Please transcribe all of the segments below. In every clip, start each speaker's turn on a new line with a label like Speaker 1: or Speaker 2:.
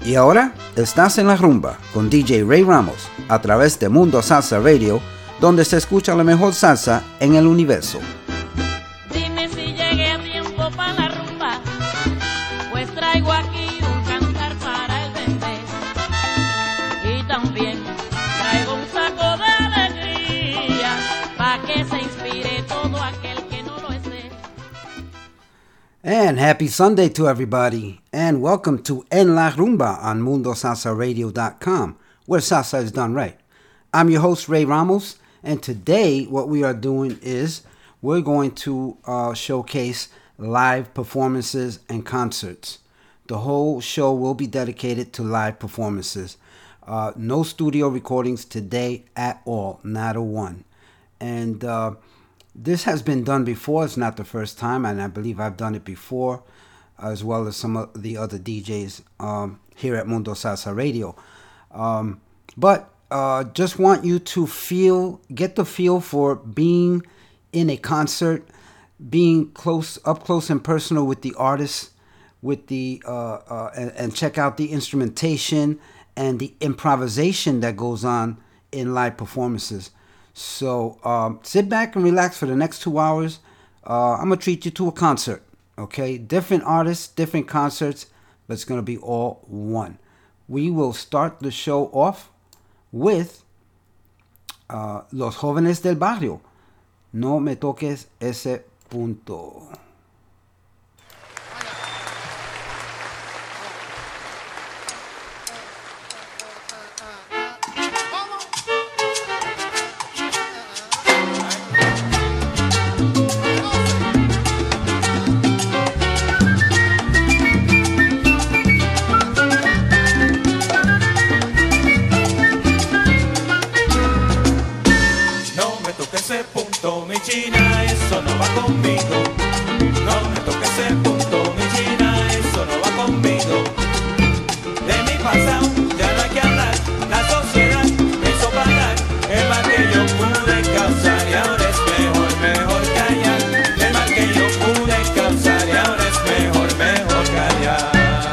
Speaker 1: Y ahora estás en la rumba con DJ Ray Ramos a través de Mundo Salsa Radio, donde se escucha la mejor salsa en el universo.
Speaker 2: Dime si llegué a tiempo para la rumba, pues traigo aquí un cantar para el bebé. Y también traigo un saco de alegría, para que se inspire todo aquel que no lo esté.
Speaker 1: And happy Sunday to everybody, and welcome to En La Rumba on MundoSalsaRadio.com, where salsa is done right. I'm your host, Ray Ramos, and today what we are doing is we're going to showcase live performances and concerts. The whole show will be dedicated to live performances. No studio recordings today at all, not a one. And this has been done before. It's not the first time, and I believe I've done it before, as well as some of the other DJs here at Mundo Salsa Radio. But just want you to get the feel for being in a concert, being up close and personal with the artists, with the and check out the instrumentation and the improvisation that goes on in live performances. So sit back and relax for the next 2 hours. I'm going to treat you to a concert, okay? Different artists, different concerts, but it's going to be all one. We will start the show off with Los Jóvenes del Barrio. No me toques ese punto.
Speaker 3: China, eso no va conmigo. No me toques ese punto, mi China, eso no va conmigo. De mi pasado ya no hay que hablar. La sociedad me hizo pagar el mal que yo pude causar y ahora es mejor callar. El mal que yo pude causar y ahora es mejor callar.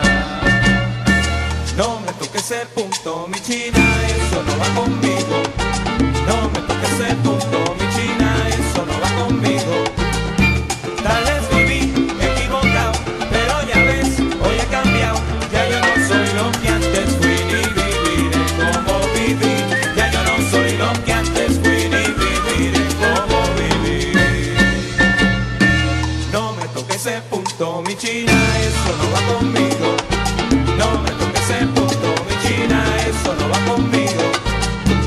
Speaker 3: No me toques ese punto, mi China, eso no va conmigo. No me toques ese punto, mi China, eso no va conmigo. Tal vez viví equivocado, pero ya ves, hoy he cambiado. Ya yo no soy lo que antes fui, ni viviré como viví. Ya yo no soy lo que antes fui, ni viviré como viví. No me toques ese punto, mi China, eso no va conmigo. No me toques ese punto, mi China, eso no va conmigo.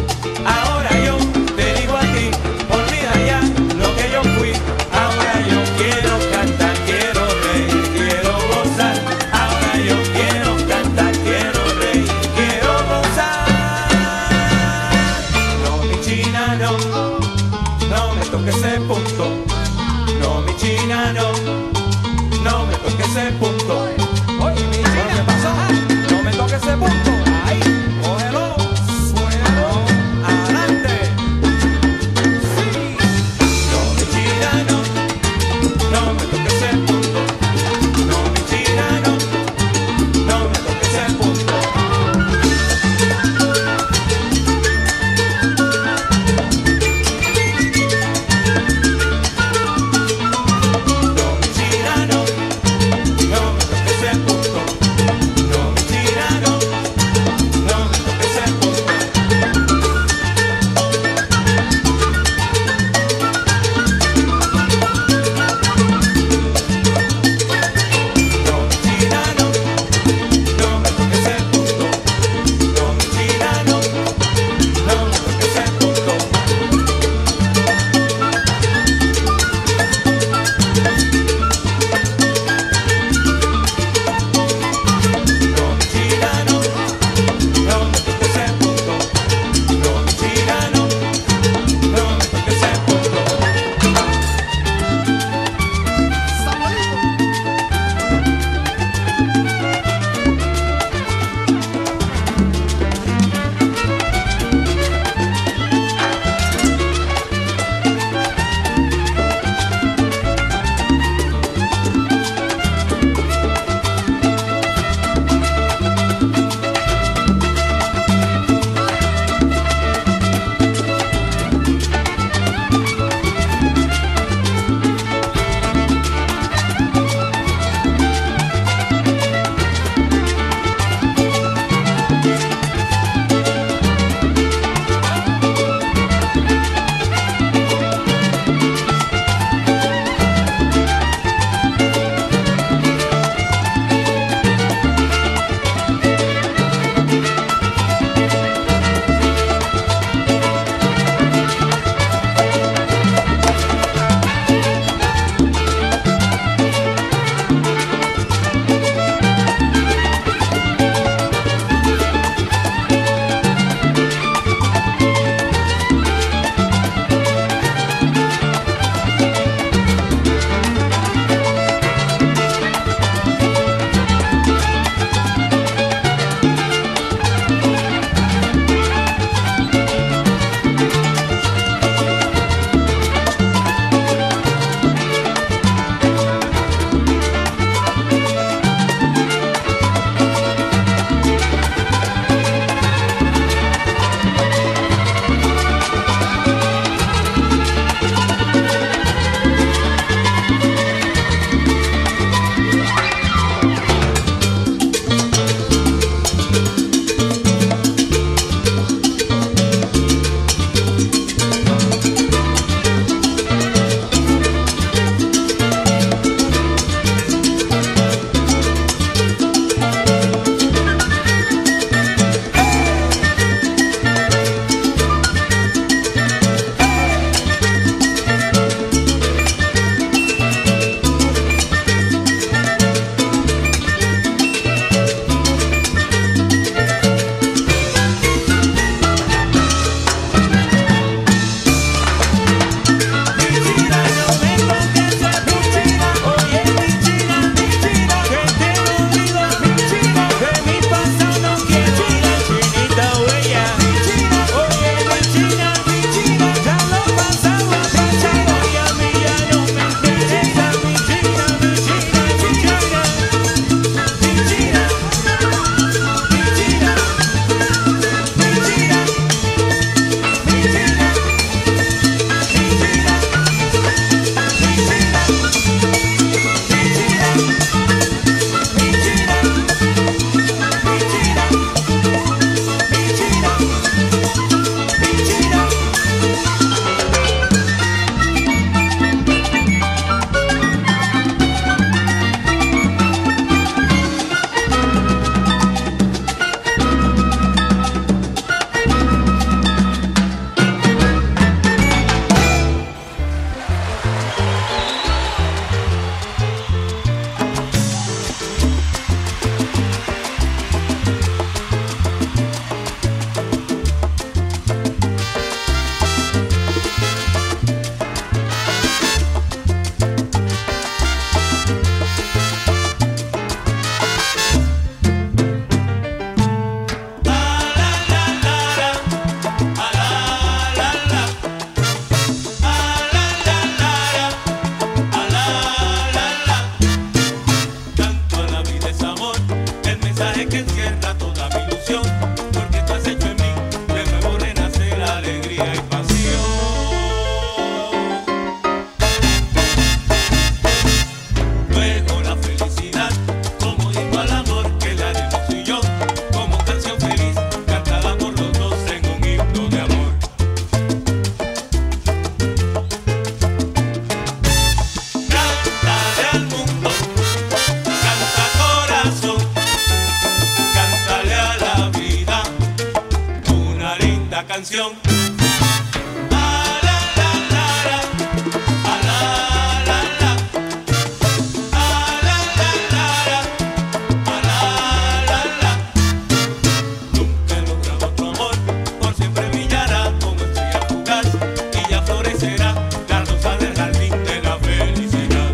Speaker 3: canción. Ah, la, la, la, la. Ah, la, la, la. Ah, la, la, la, la. Ah, la, la, la. Nunca he logrado otro amor, por siempre brillará como estrella fugaz y ya florecerá la rosa del jardín de la felicidad.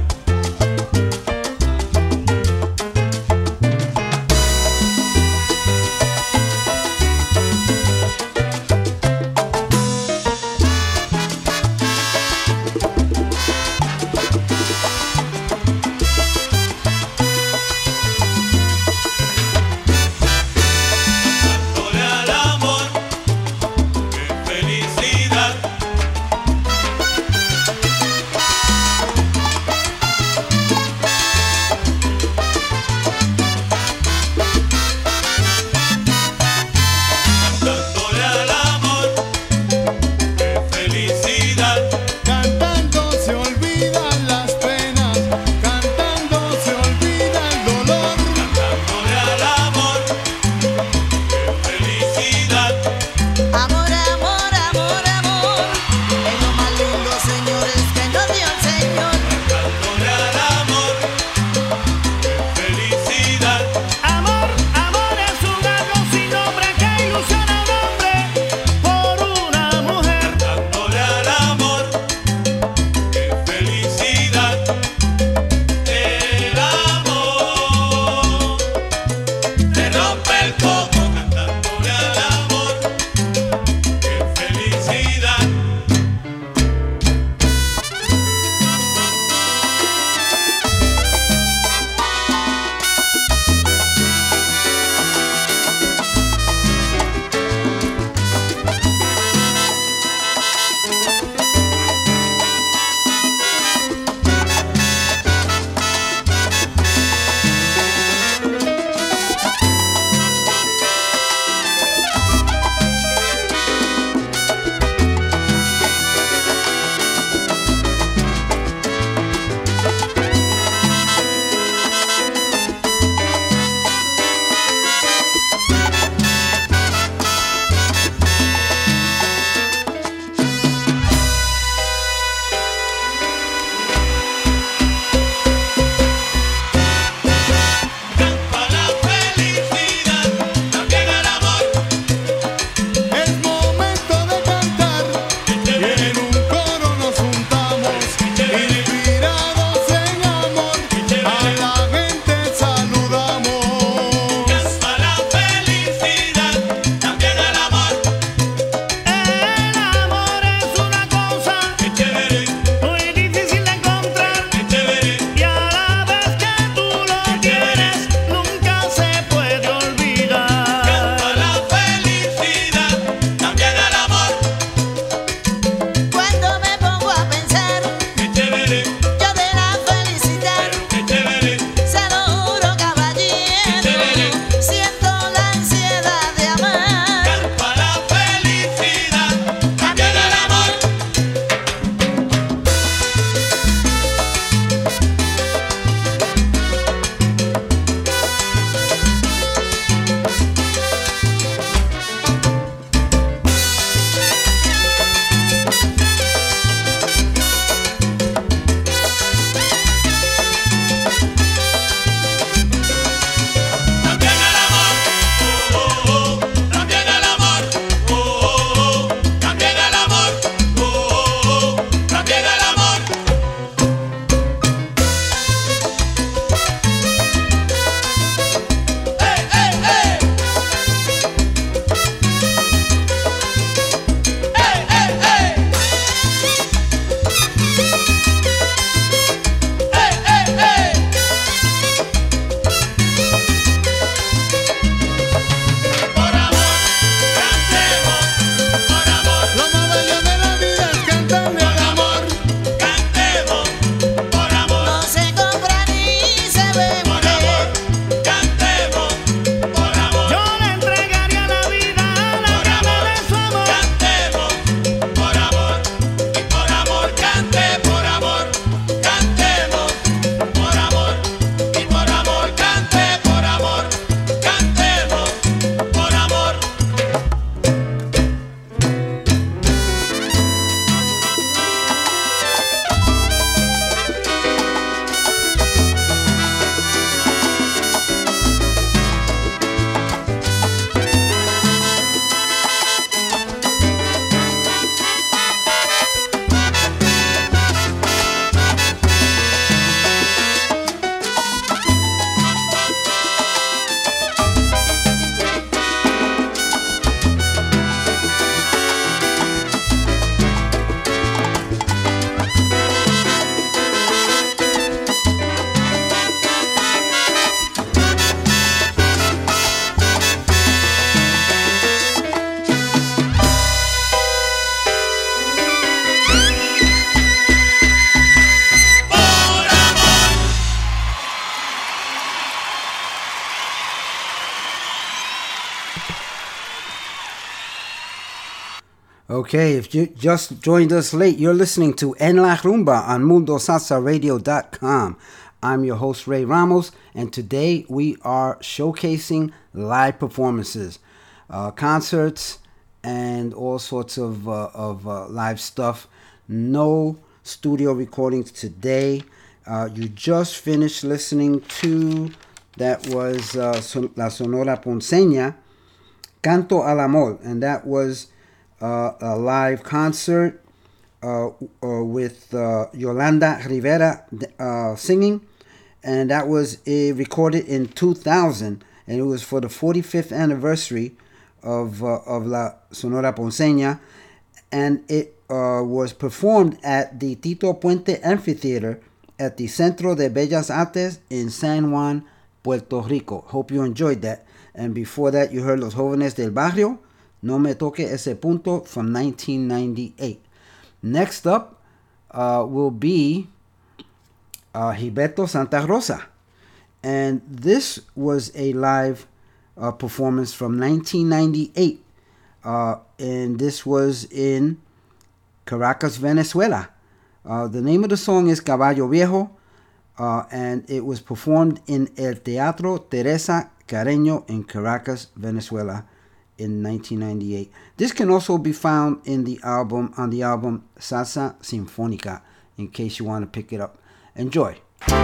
Speaker 1: Okay, if you just joined us late, you're listening to En La Rumba on MundoSalsaRadio.com. I'm your host, Ray Ramos, and today we are showcasing live performances, concerts, and all sorts of live stuff. No studio recordings today. You just finished listening to, that was La Sonora Ponceña, Canto al Amor, and that was a live concert with Yolanda Rivera singing, and that was recorded in 2000, and it was for the 45th anniversary of La Sonora Ponceña, and it was performed at the Tito Puente Amphitheater at the Centro de Bellas Artes in San Juan, Puerto Rico. Hope you enjoyed that. And before that, you heard Los Jóvenes del Barrio, No Me Toque Ese Punto from 1998. Next up will be Gilberto Santa Rosa. And this was a live performance from 1998. And this was in Caracas, Venezuela. The name of the song is Caballo Viejo. And it was performed in El Teatro Teresa Carreño in Caracas, Venezuela, in 1998. This can also be found in the album Salsa Sinfónica, in case you want to pick it up. Enjoy.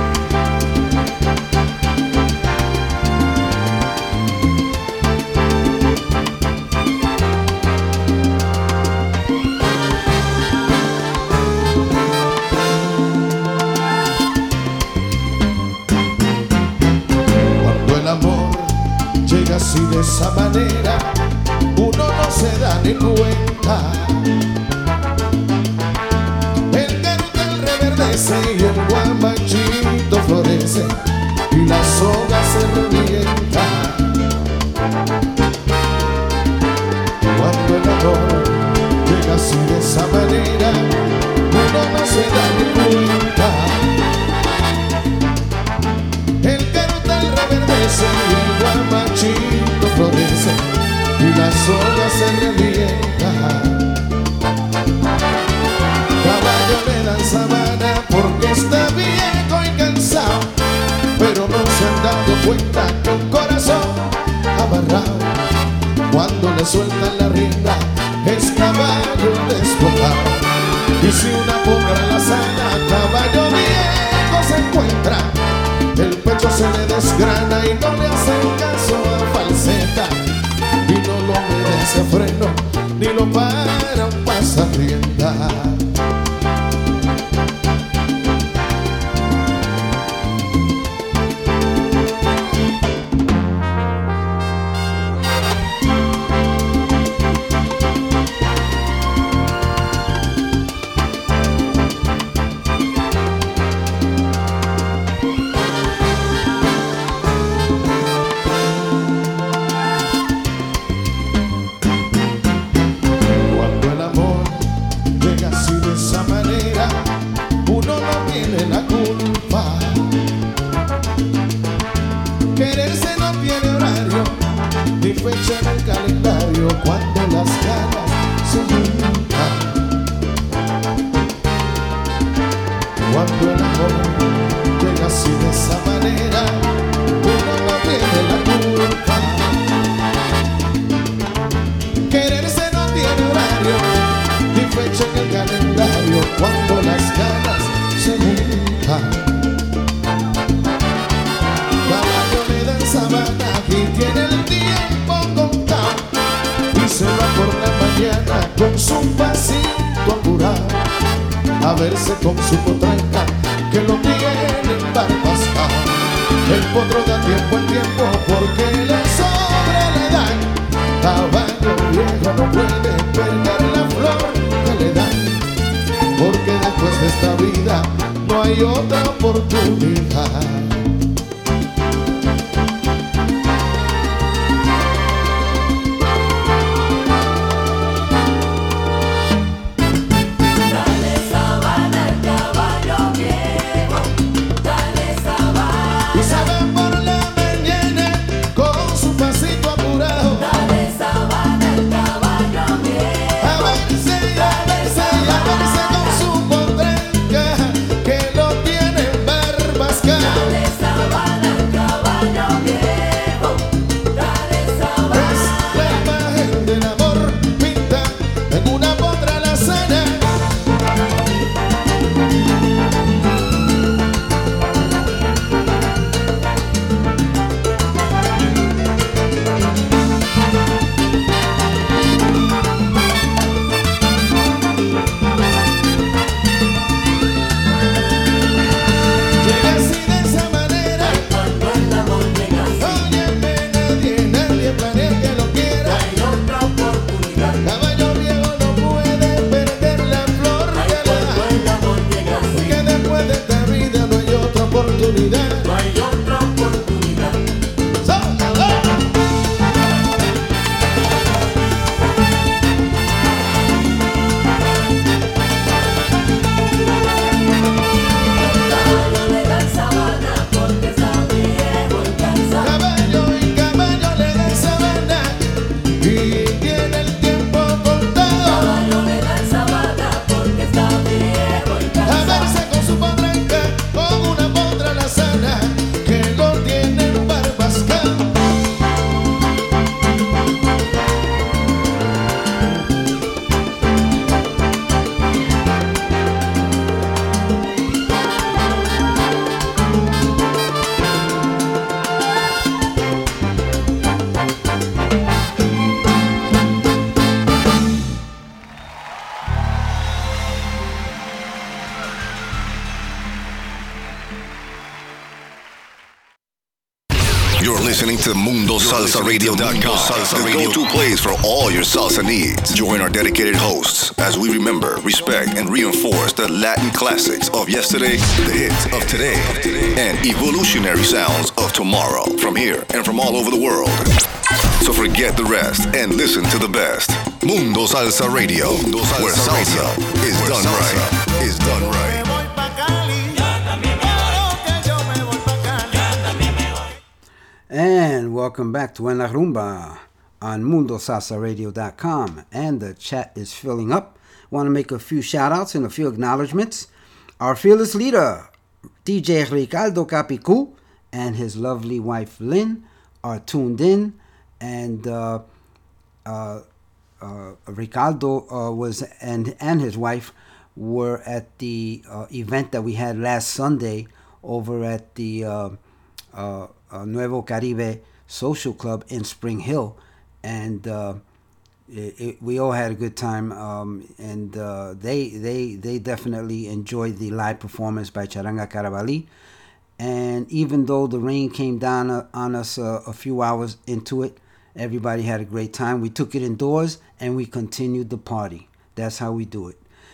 Speaker 4: Cuando el amor llega así de esa manera, uno no se da ni cuenta. El cartel reverdece y el guamachito florece y la soga se revienta. Cuando el amor llega así de esa manera, uno no se da ni cuenta. El cartel reverdece y el guamachito florece y la soga se revienta. Caballo le dan sabana porque está viejo y cansado, pero no se han dado cuenta que un corazón amarrado, cuando le sueltan la rienda, es caballo despojado. Y si una potra la sana, caballo viejo se encuentra, el pecho se le desgrana y no le hacen caso a falseta, y no lo obedece a freno, ni lo para un pasarrienda. Fecha en el calendario cuando las ganas se juntan. Cuando el amor llega así de esa manera, uno no tiene la culpa. Quererse no tiene horario ni fecha en el calendario cuando las ganas se juntan. Caballo le dan sabana y tiene el tiempo contado y se va por la mañana con su pasito apurado a verse con su potranca que lo tiene embarbascado. El potro da tiempo al tiempo porque le sobra la edad. Caballo viejo no puede perder la flor que le dan, porque después de esta vida no hay otra oportunidad. Y saben por la mañana con su pasito apurado oportunidad.
Speaker 3: No hay otra oportunidad.
Speaker 4: ¡Sálvalo!
Speaker 3: Caballo le dan sabana porque está viejo y cansado.
Speaker 4: Caballo y caballo le dan sabana y tiene el tiempo contado.
Speaker 3: Caballo le dan sabana porque está viejo y
Speaker 4: A
Speaker 3: cansado.
Speaker 4: verse con su potranca, con una potra lazana que lo tiene barbascado.
Speaker 5: You're listening to MundoSalsaRadio.com, the go-to place for all your salsa needs. Join our dedicated hosts as we remember, respect, and reinforce the Latin classics of yesterday, the hits of today, and evolutionary sounds of tomorrow from here and from all over the world. So forget the rest and listen to the best. Mundo Salsa Radio, where salsa is done right. Is done right.
Speaker 1: And welcome back to En La Rumba on MundoSalsaRadio.com. And the chat is filling up. Want to make a few shout outs and a few acknowledgments. Our fearless leader, DJ Ricardo Capicu, and his lovely wife Lynn are tuned in. And Ricardo was and his wife were at the event that we had last Sunday over at the Nuevo Caribe Social Club in Spring Hill, and we all had a good time. And they definitely enjoyed the live performance by Charanga Carabalí. And even though the rain came down on us a few hours into it, everybody had a great time. We took it indoors and we continued the party. That's how we do it.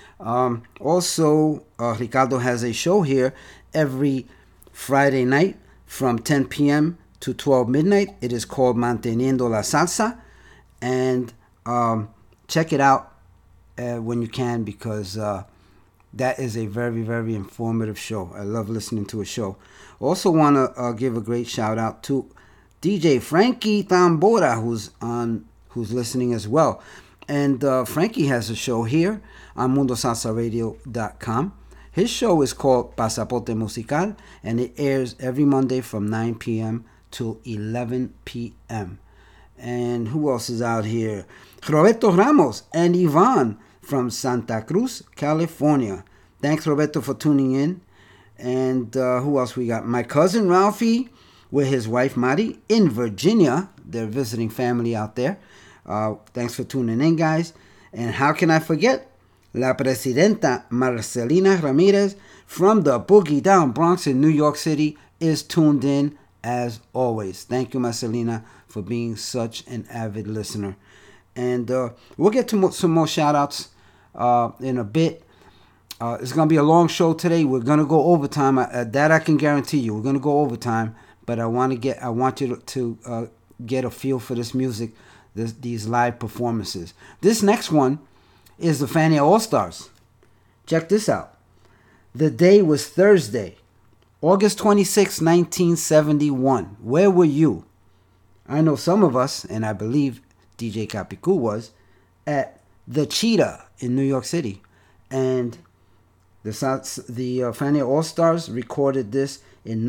Speaker 1: Also, Ricardo has a show here every Friday night from 10 p.m. to 12 midnight. It is called Manteniendo la Salsa. And check it out when you can, because that is a very, very informative show. I love listening to a show. Also want to give a great shout out to DJ Frankie Tambora, who's listening as well. And Frankie has a show here on MundoSalsaRadio.com. His show is called Pasaporte Musical, and it airs every Monday from 9 p.m. to 11 p.m. And who else is out here? Roberto Ramos and Yvonne from Santa Cruz, California. Thanks, Roberto, for tuning in. And who else we got? My cousin Ralphie with his wife Mari in Virginia. They're visiting family out there. Thanks for tuning in, guys. And how can I forget? La Presidenta Marcelina Ramirez from the Boogie Down Bronx in New York City is tuned in as always. Thank you, Marcelina, for being such an avid listener. And we'll get to some more shout-outs in a bit. It's going to be a long show today. We're going to go overtime. That I can guarantee you. We're going to go overtime. But I want you to get a feel for this music, these live performances. This next one is the Fania All-Stars. Check this out. The day was Thursday, August 26, 1971. Where were you? I know some of us, and I believe DJ Capicu was, at the Cheetah in New York City. And the Fania All-Stars recorded this in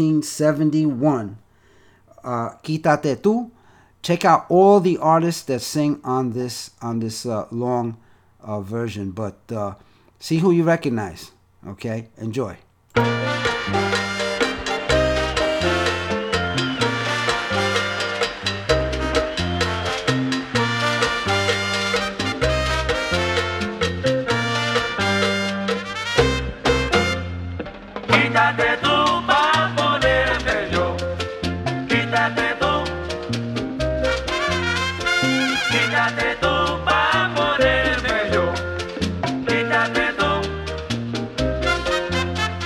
Speaker 1: 1971. Quítate Tú. Check out all the artists that sing on this long version, but see who you recognize. Okay, enjoy.
Speaker 3: Quítate tú pa' ponerme yo. Quítate tú. Quítate tú pa' ponerme yo. Quítate tú.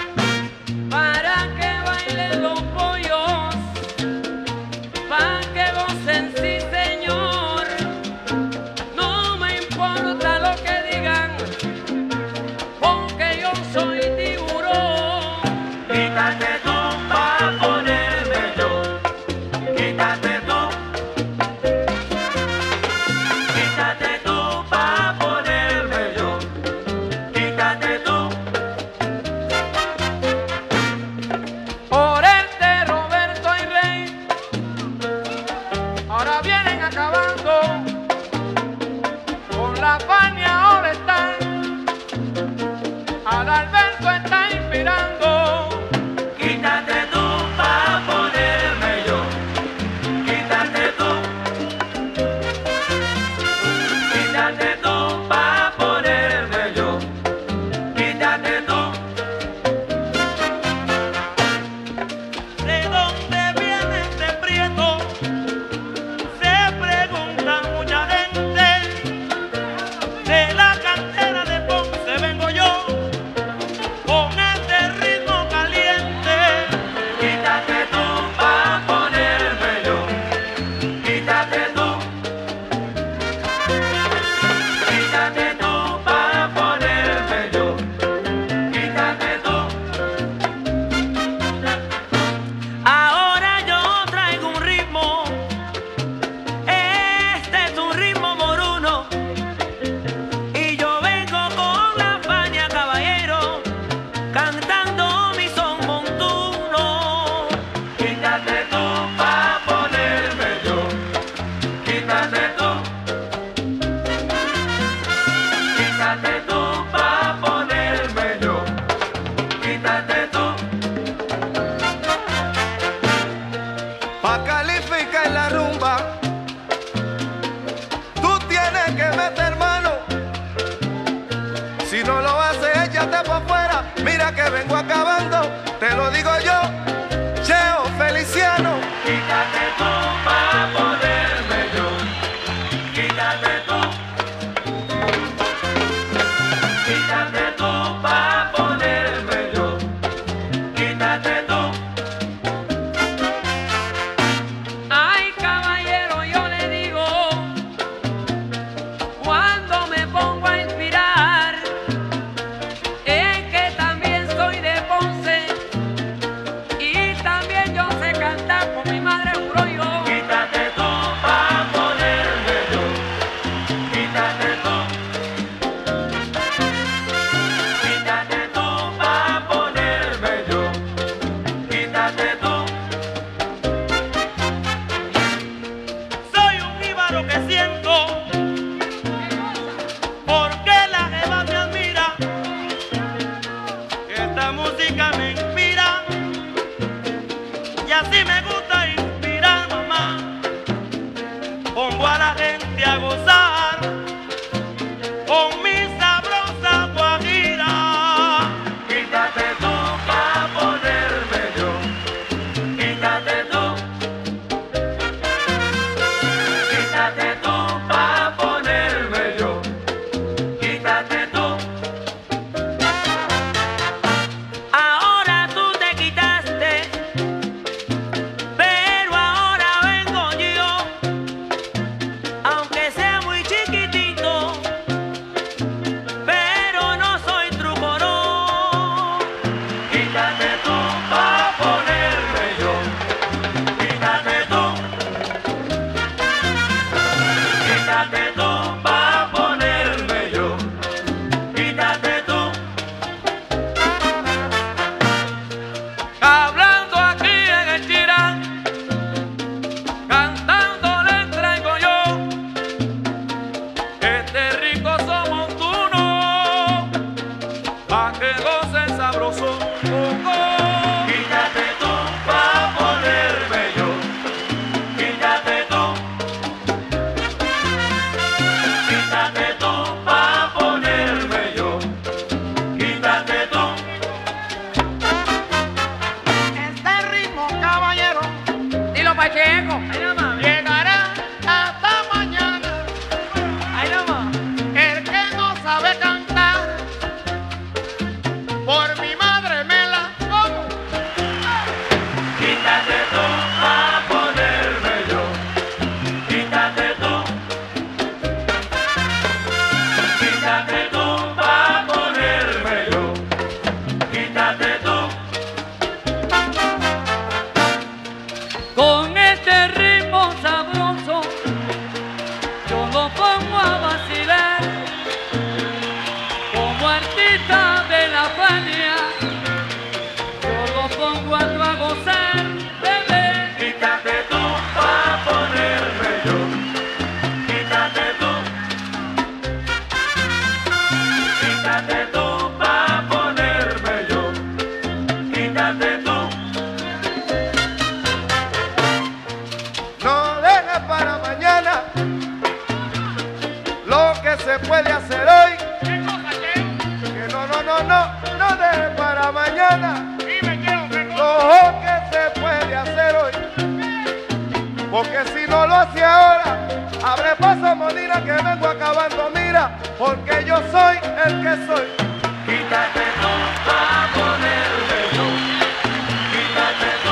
Speaker 6: se puede hacer hoy. ¿Qué cosa qué? Que no deje para mañana. Dime qué lo que se puede hacer hoy. Porque si no lo hace ahora, abre paso Molina que vengo acabando, mira, porque yo soy el que soy. Quítate tú pa' ponerme yo. Quítate tú.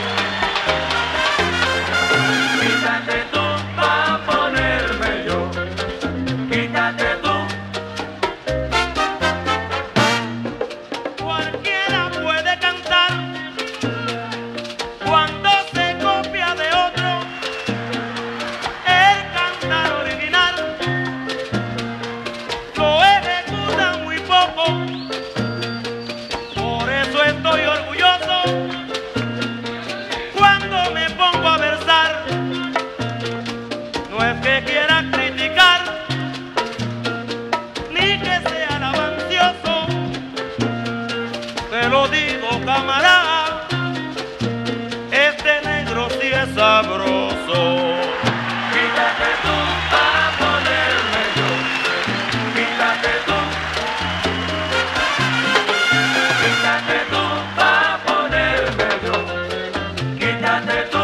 Speaker 6: Quítate tú pa' ponerme yo. Quítate tú. Cualquiera puede cantar cuando se copia de otro. El cantar original lo ejecuta muy poco. Por eso estoy orgulloso cuando me pongo a versar. No es que quiera criticar ni que sea lavancioso. Te lo digo, camarada, este negro sí es sabroso. Quítate tú para ponerme yo. Quítate tú. Quítate tú para ponerme yo. Quítate tú.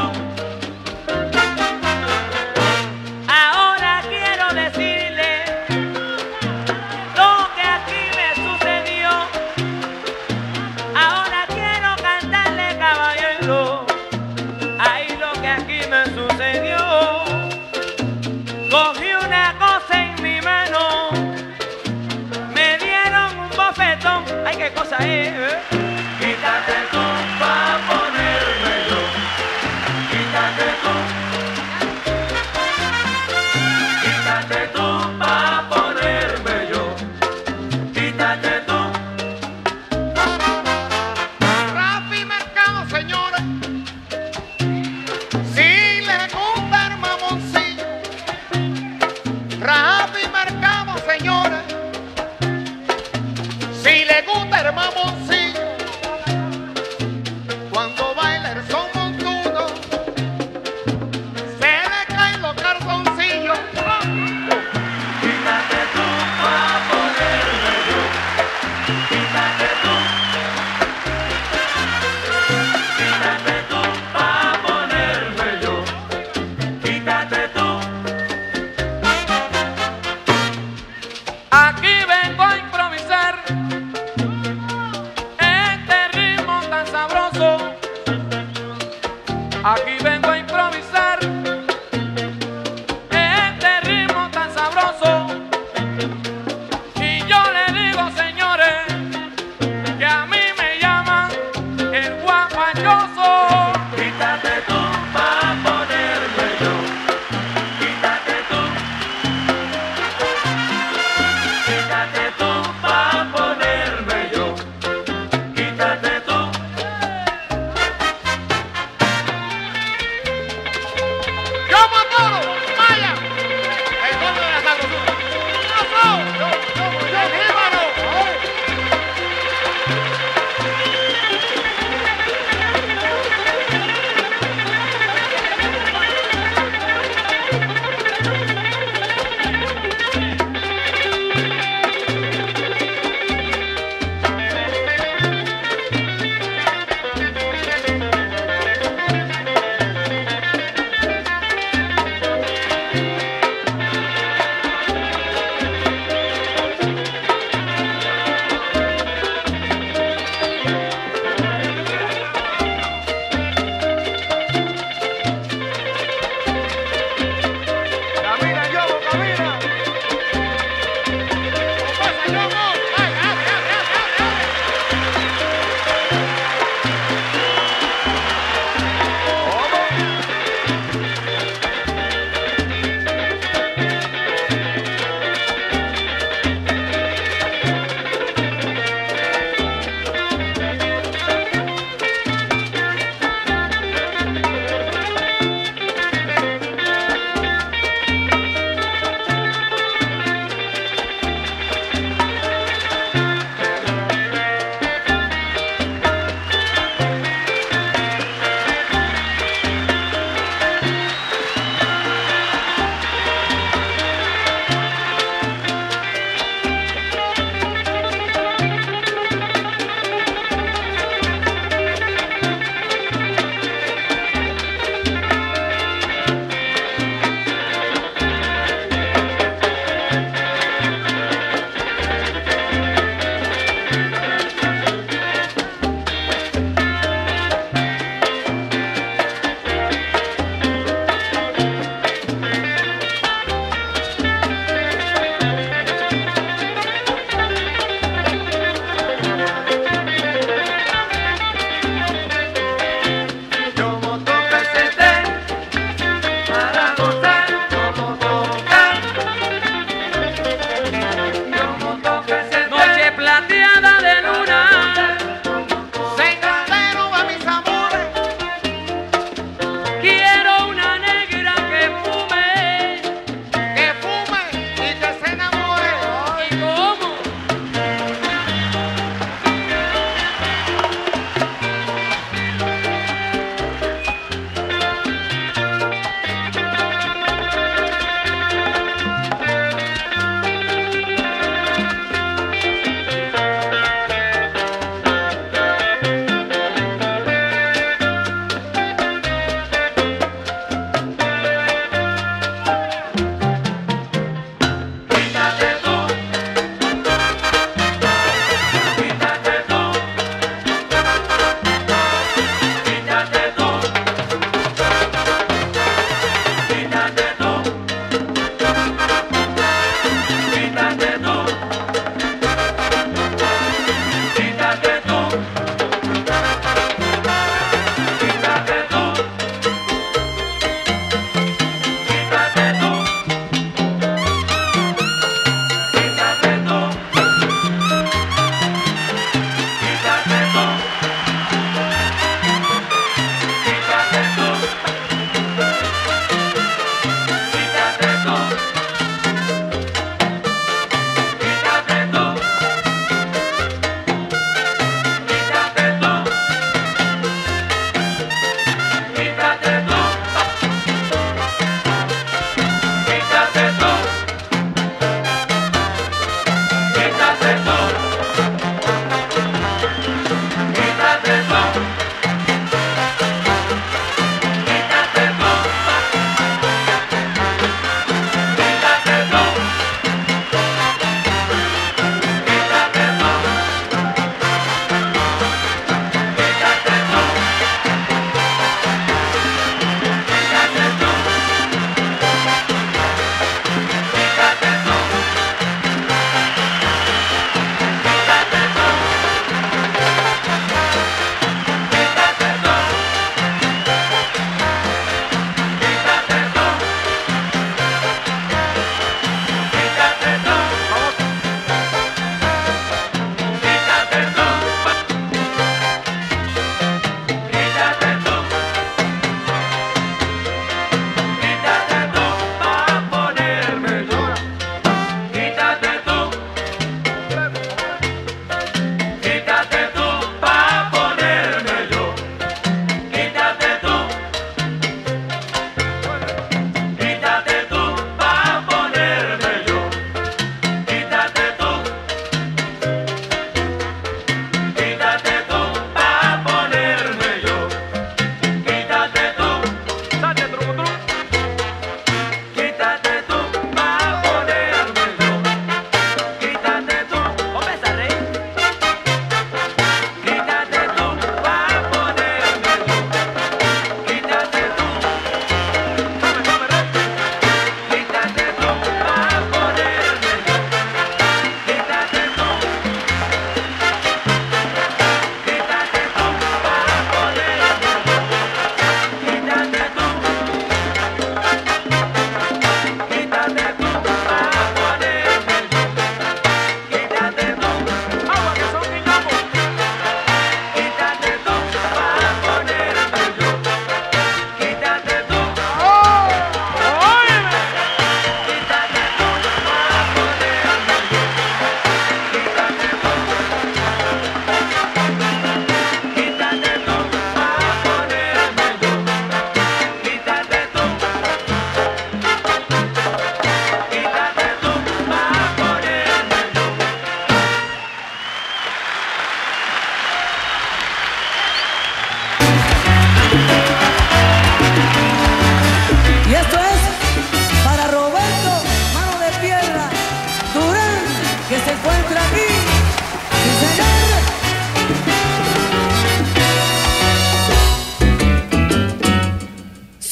Speaker 6: Ahora quiero decirle lo que aquí me sucedió. Ahora quiero cantarle, caballero, ahí lo que aquí me sucedió. Cogí una cosa en mi mano, me dieron un bofetón. Ay, qué cosa es, ¿eh? Quítate tú pa' ponerme yo. Quítate tú. Quítate tú pa' ponerme yo. Quítate tú. Rafi Mercado, señores. Si le gusta el mamoncillo. Rafi Mercado, señores. Si le gusta el mamoncillo. Cuando baila el son montuno, se le caen los calzoncillos. Quítate tú pa' ponerme yo. Quítate tú. Quítate tú pa' ponerme yo. Quítate tú. Aquí vengo a improvisar este ritmo tan sabroso. Aquí vengo a improvisar este ritmo tan sabroso. Y yo le digo, señores, que a mí me llaman el guapachoso. Quítate tú pa' ponerme yo.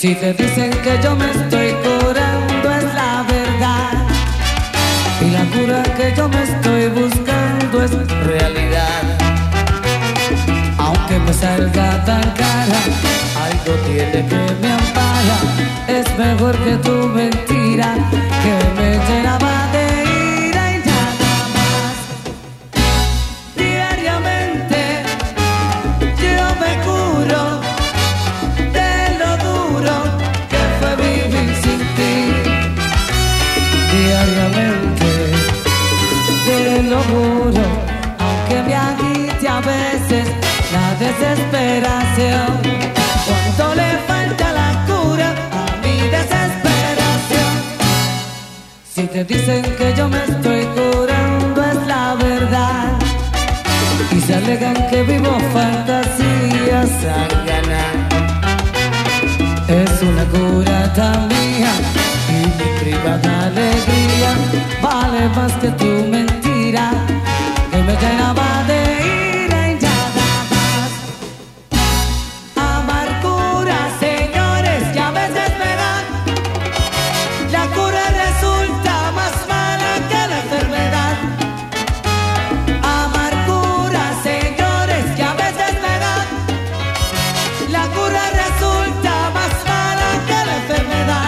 Speaker 7: Si te dicen que yo me estoy curando es la verdad, y la cura que yo me estoy buscando es realidad. Aunque me salga tan cara, algo tiene que me ampara. Es mejor que tu mentira que me llenaba de ira y nada más. Diariamente yo me curo de lo duro que fue vivir sin ti. Diariamente te lo juro, aunque me agite a veces la desesperación, cuando le falta la cura a mi desesperación. Si te dicen que yo me estoy curando es la verdad, y se alegan que vivo fantasías a ganar. Es una cura tan mía y mi privada alegría vale más que tu mentira que me llenaba de ira y nada más. Amargura, señores, que a veces me dan. La cura resulta más mala que la enfermedad. Amargura, señores, que a veces me dan. La cura resulta más mala que la enfermedad.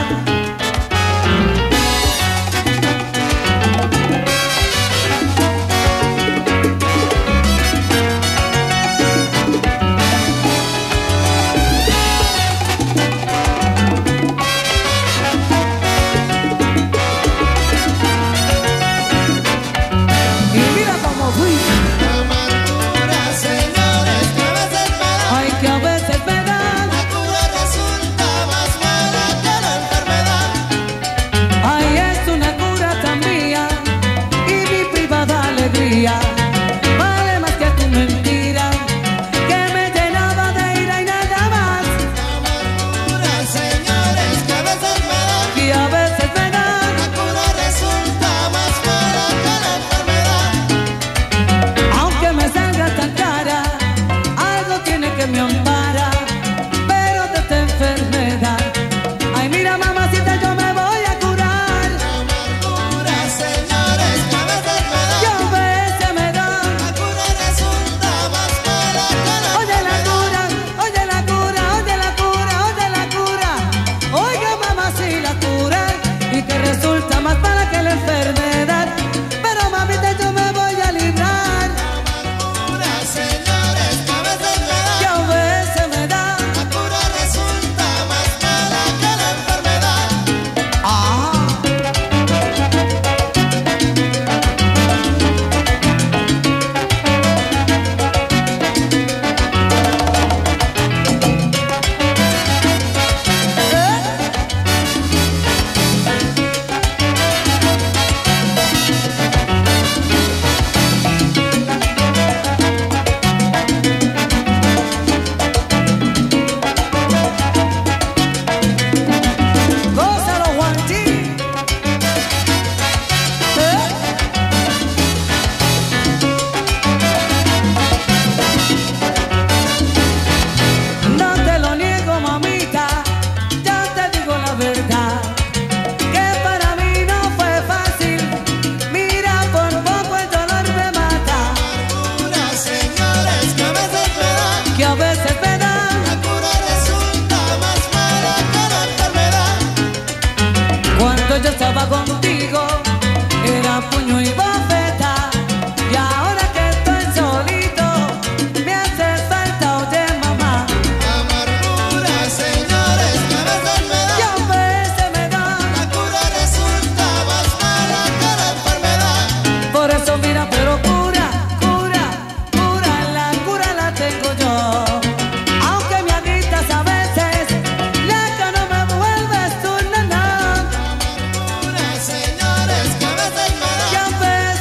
Speaker 7: Y mira cómo fui.
Speaker 4: Amargura, señores, que a veces me da.
Speaker 7: Ay, que a veces me dan.
Speaker 4: La cura resulta más mala que la enfermedad.
Speaker 7: Ay, es una cura tan mía y mi privada alegría vale más que tu mentira que me llenaba de ira y nada más.
Speaker 4: Amargura, señores, que a veces me da.
Speaker 7: Y a veces me dan.
Speaker 4: La cura resulta más mala que la enfermedad.
Speaker 7: Aunque me salga tan cara, algo tiene que me ampara, pero de esta enfermedad. Ay, mira, mamacita, yo me voy a curar.
Speaker 4: Amargura, señores, que a veces me da.
Speaker 7: Y a veces me dan.
Speaker 4: La cura resulta más mala que la
Speaker 7: Oye la cura, oye la cura, oye la cura, oye la cura. Oiga, mamá, si la cura y que resulta más mala que la enfermedad. Pero mamita, yo me voy a librar.
Speaker 4: Amargura, señores, que a veces me da.
Speaker 7: Y a veces me da.
Speaker 4: La cura resulta más mala que la enfermedad.
Speaker 7: Ah. Gózalo, Juanchi. No te lo niego, mamita, ya te digo la verdad, que para mí no fue fácil. Mira, por poco el dolor me mata,
Speaker 4: Amargura, señores, que a veces me da.
Speaker 7: que a veces me dan.
Speaker 4: La cura resulta más mala que la enfermedad.
Speaker 7: Cuando yo estaba contigo, era puño y bofeta, y ahora que estoy solito, me hace falta, oye mamá,
Speaker 4: Amargura, señores, que a veces me
Speaker 7: que
Speaker 4: da.
Speaker 7: a veces me dan.
Speaker 4: La cura resulta más mala que la enfermedad.
Speaker 7: Por eso mira, pero cura, cura, cura, la cura la tengo yo. Aunque me agritas a veces, la que no me vuelves tú, no, no.
Speaker 4: Amargura, señores, que a veces me
Speaker 7: Que
Speaker 4: da.
Speaker 7: a veces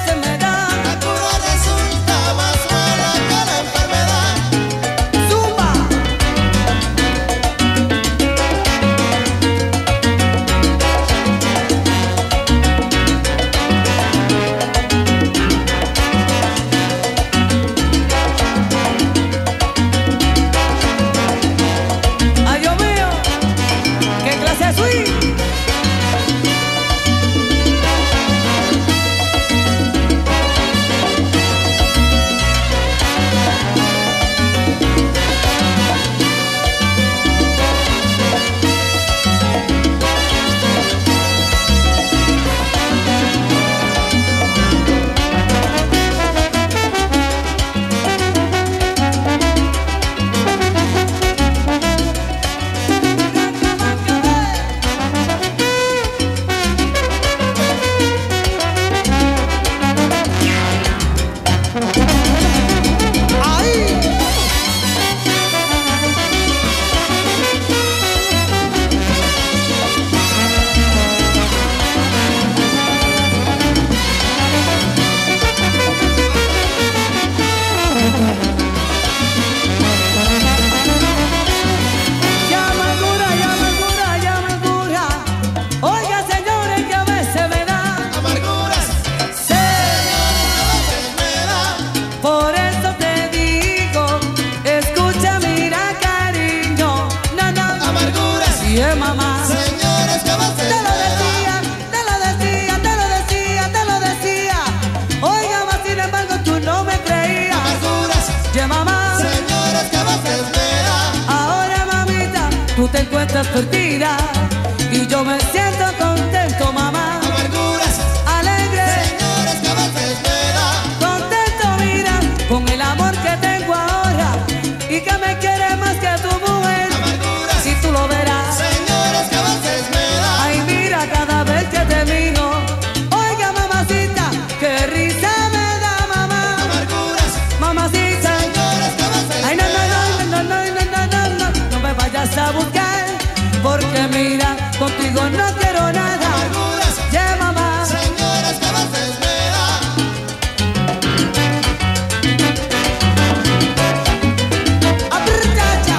Speaker 7: perdida y yo me siento contento, mamá.
Speaker 4: Amarguras,
Speaker 7: Alegre,
Speaker 4: señores, que a veces me da.
Speaker 7: contento, mira, con el amor que tengo ahora y que me quiere más que tu mujer.
Speaker 4: Amarguras,
Speaker 7: Si tú lo verás,
Speaker 4: señores, que a veces me da.
Speaker 7: ay, mira cada vez que te miro. Oiga, mamacita, qué risa me da, mamá.
Speaker 4: Amarguras,
Speaker 7: Mamacita,
Speaker 4: señores, que a veces
Speaker 7: ay,
Speaker 4: me da.
Speaker 7: no me vayas a buscar, porque mira, contigo no quiero nada.
Speaker 4: Amarguras,
Speaker 7: Yeah, mamá.
Speaker 4: señores, que a veces me da.
Speaker 7: Aprieta.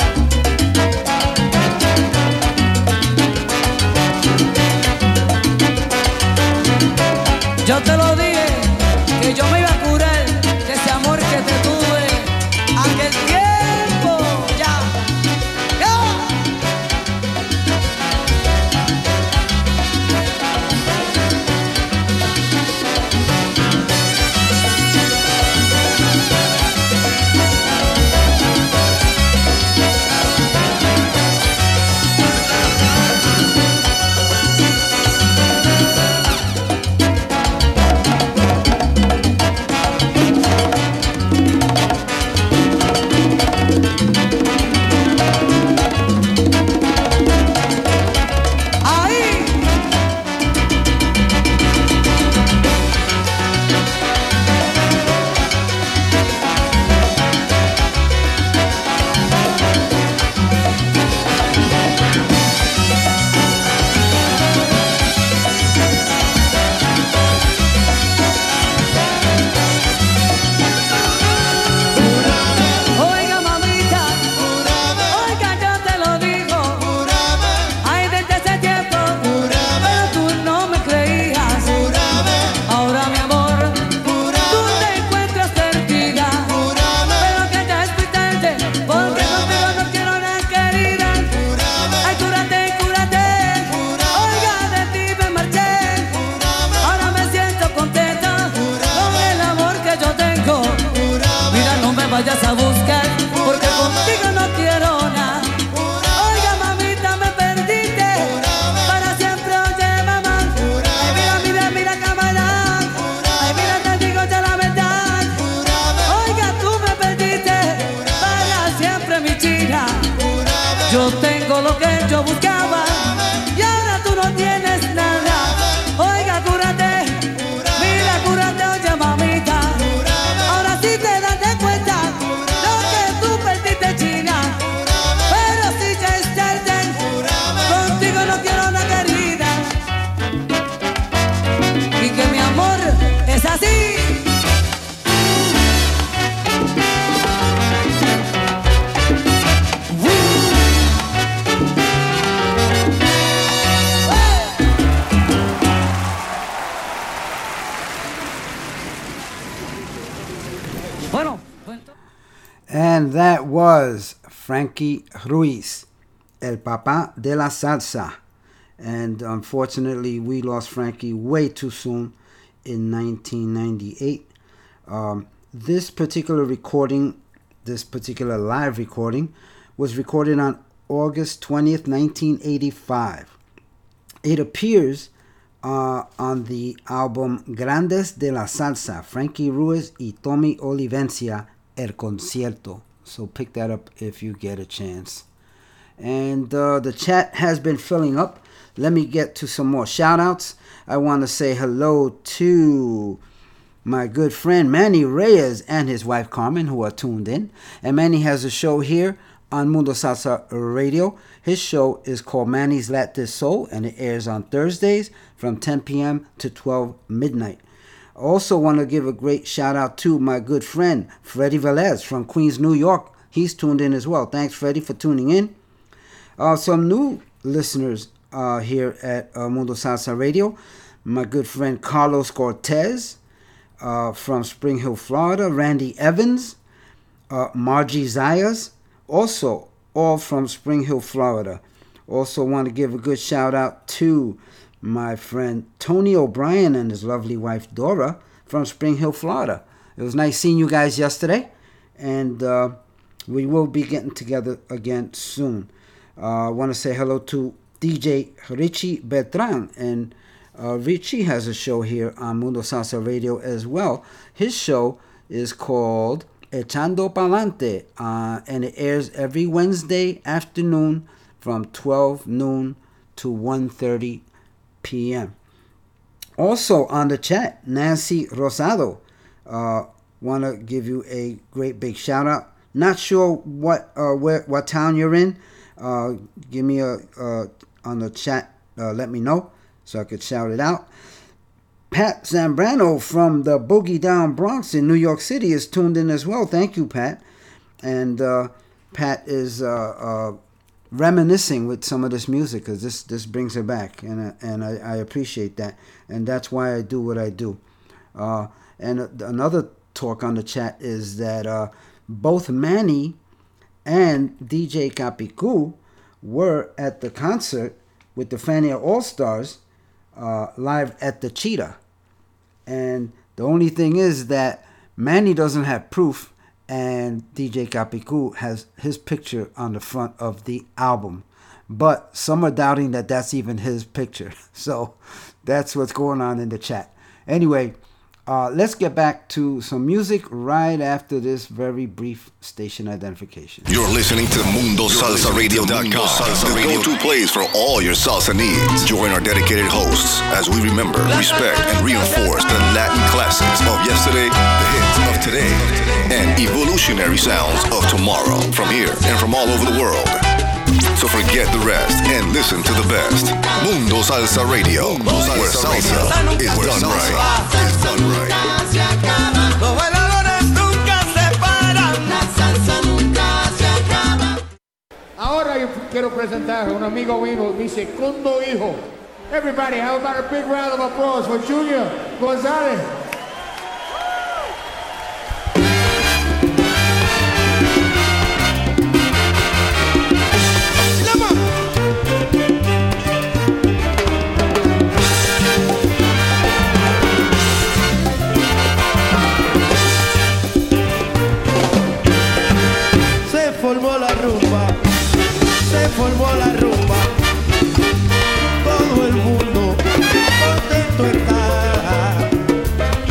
Speaker 7: Yo te lo dije, que yo me iba a curar de ese amor que te tuve aquel tiempo. Ya, ya. Ahí. Oiga, mamita, oiga, yo te lo digo. Ay, desde ese tiempo, pero tú no me creías. Ahora, mi amor, tú te encuentras perdida. Pero que ya es muy tarde, porque contigo no quiero nada, querida. Ay, cúrate, cúrate. Oiga, de ti me marché. Ahora me siento contenta con el amor que yo tengo. Mira, no me vayas a buscar, porque contigo no quiero nada. Oiga, mamita, me perdiste para siempre, oye, mamá. Ay, mira, mira, mira, camarada. Ay, mira, te digo ya la verdad. Oiga, tú me perdiste para siempre, mi china. Yo tengo lo que yo buscaba y ahora tú no tienes nada. Oiga, cúrate, mira, cúrate, oye, mamita. Ahora sí te das de cuenta lo que tú perdiste, china. Pero si ya es tarde, contigo no quiero una querida. Y que mi amor es así. Bueno,
Speaker 1: And that was Frankie Ruiz, El Papa de la Salsa. And unfortunately, we lost Frankie way too soon in 1998. This particular recording, this particular live recording, was recorded on August 20th, 1985. It appears on the album Grandes de la Salsa, Frankie Ruiz y Tommy Olivencia, El Concierto. So pick that up if you get a chance. And the chat has been filling up. Let me get to some more shout outs. I want to say hello to my good friend Manny Reyes and his wife Carmen, who are tuned in. And Manny has a show here on Mundo Salsa Radio. His show is called Manny's Latin Soul, and it airs on Thursdays from 10 p.m. to 12 midnight. Also want to give a great shout out to my good friend Freddie Velez from Queens, New York. He's tuned in as well. Thanks, Freddie, for tuning in. Some new listeners here at Mundo Salsa Radio. My good friend Carlos Cortez from Spring Hill, Florida. Randy Evans, Margie Zayas, also all from Spring Hill, Florida. Also want to give a good shout out to my friend Tony O'Brien and his lovely wife Dora from Spring Hill, Florida. It was nice seeing you guys yesterday, and we will be getting together again soon. I want to say hello to DJ Richie Beltran, and Richie has a show here on Mundo Salsa Radio as well. His show is called Echando Palante, and it airs every Wednesday afternoon from 12 noon to 1:30 p.m. Also on the chat, Nancy Rosado. Want to give you a great big shout out. Not sure what town you're in. Give me on the chat. Let me know so I could shout it out. Pat Zambrano from the Boogie Down Bronx in New York City is tuned in as well. Thank you, Pat. And Pat is reminiscing with some of this music because this brings her back, and I appreciate that. And that's why I do what I do. And another talk on the chat is that both Manny and DJ Capicu were at the concert with the Fania All-Stars live at the Cheetah. And the only thing is that Manny doesn't have proof, and DJ Capicu has his picture on the front of the album. But some are doubting that that's even his picture. So that's what's going on in the chat. Anyway, let's get back to some music right after this very brief station identification.
Speaker 5: You're listening to MundoSalsaRadio.com, the go-to place for all your salsa needs. Join our dedicated hosts as we remember, respect, and reinforce the Latin classics of yesterday, the hits of today, and evolutionary sounds of tomorrow from here and from all over the world. So forget the rest and listen to the best. Mundo Salsa Radio, where salsa is done right. Is done right.
Speaker 3: Los bailadores nunca se paran. La salsa nunca se acaba.
Speaker 8: Ahora yo quiero presentar a un amigo mío, mi segundo hijo. Everybody, how about a big round of applause for Junior Gonzalez?
Speaker 4: Formó la rumba, todo el mundo contento está.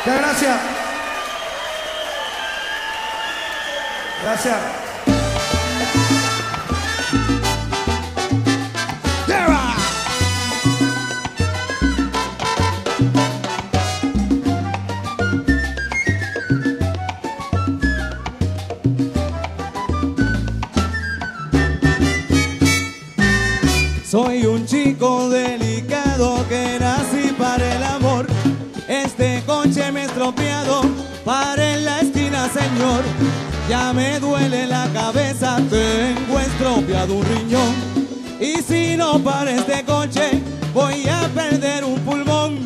Speaker 9: Muchas gracias. Gracias.
Speaker 10: Soy un chico delicado que nací para el amor. Este coche me he estropeado, para en la esquina, señor. Ya me duele la cabeza, tengo estropeado un riñón. Y si no para este coche, voy a perder un pulmón.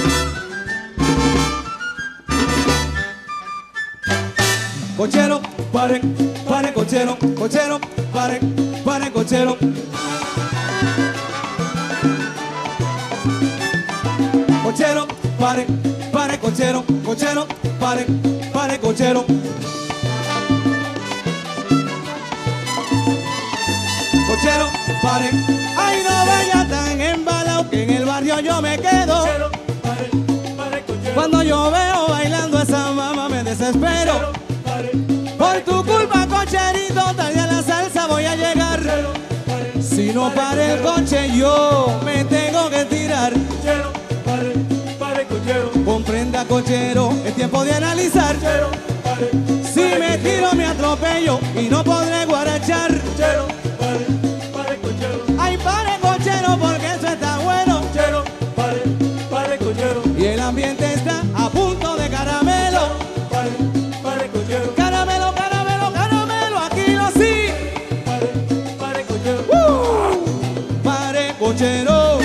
Speaker 10: Cochero, pare, pare, cochero, cochero, pare, pare, cochero. Cochero, pare, pare, cochero, cochero, pare, pare, cochero. Cochero, pare, ay no vaya tan embalado que en el barrio yo me quedo. Cochero, pare, pare, cochero. Cuando yo veo bailando a esa mamá me desespero. Cochero, pare, pare, por tu culpa, cocherito, tarde a la salsa voy a llegar. Cochero, pare, si no pare el coche yo me tengo que tirar. Cochero, pare, pare, cochero. Comprenda, cochero, es tiempo de analizar. Cochero, pare, si pare, me tiro me atropello y no podré guarachar. Cochero, pare, pare, cochero. Ay, pare, cochero, porque eso está bueno. Cochero, pare, pare, cochero. Y el ambiente está a punto de caramelo. Pare, pare, cochero. Caramelo, caramelo, caramelo, aquí lo sí. Pare, pare, cochero. Pare, cochero.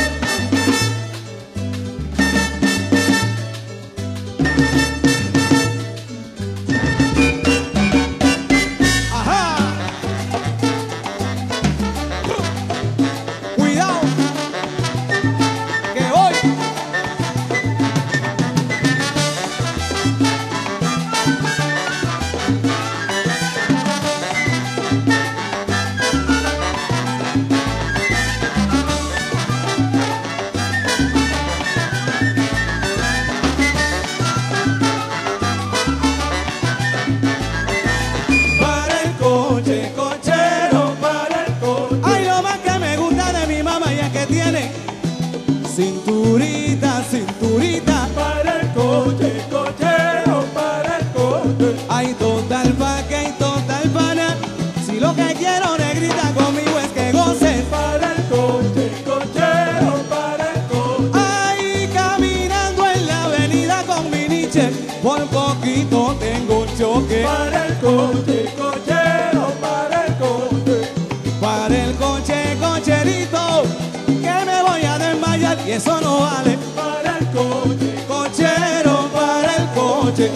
Speaker 10: Cinturita, cinturita, para el coche, cochero, para el coche. Hay total vaca y total pana. Si lo que quiero, negrita, conmigo es que goces. Para el coche, cochero, para el coche. Ay, caminando en la avenida con mi niche, por poquito tengo un choque. Para el coche, cochero, para el coche. Para el coche, cocherito, que me voy a desmayar y eso no vale. Para el coche, cochero, para el coche.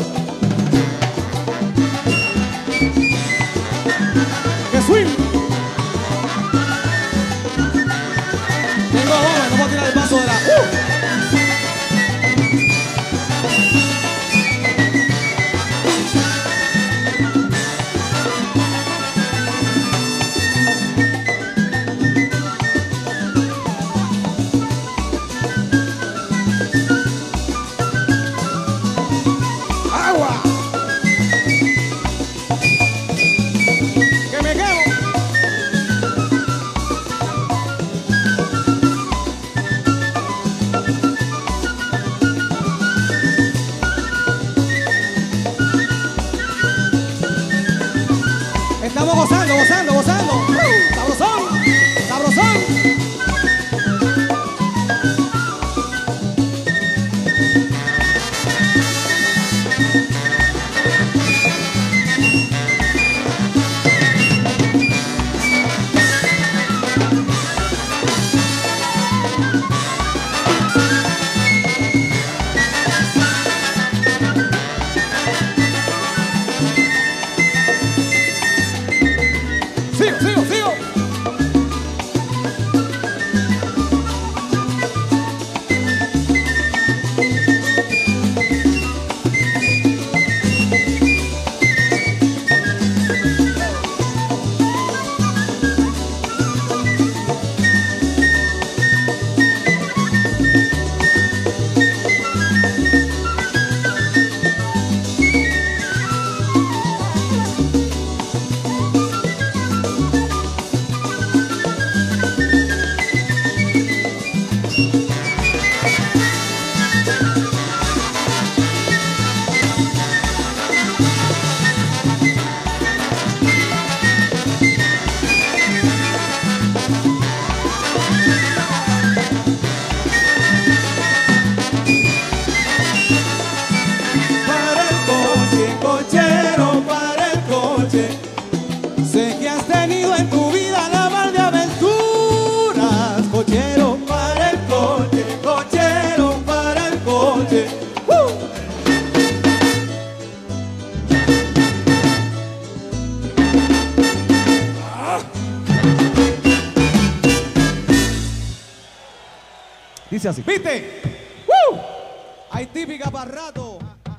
Speaker 10: ¡Qué swing! Tengo bomba, no puedo tirar el paso de la... Dice así. ¿Viste? ¡Woo! Hay típica para rato.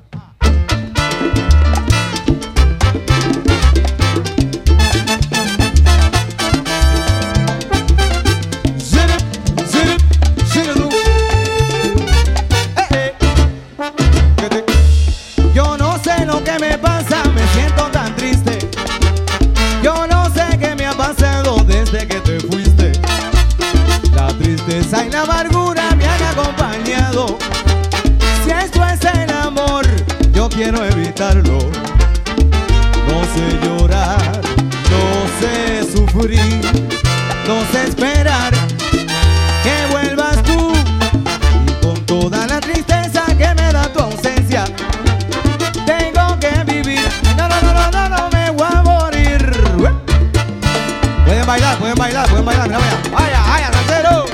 Speaker 11: Yo no sé lo que me pasa, me siento tan triste. Yo no sé qué me ha pasado desde que te fuiste. La tristeza y la amargura me han acompañado. Si esto es el amor, yo quiero evitarlo. No sé llorar, no sé sufrir, no sé esperar que vuelvas tú. Y con toda la tristeza que me da tu ausencia, tengo que vivir. No, no, no, no, no, no me voy a morir. Pueden bailar, pueden bailar, pueden bailar. Mira, vaya, vaya, vaya, ranchero.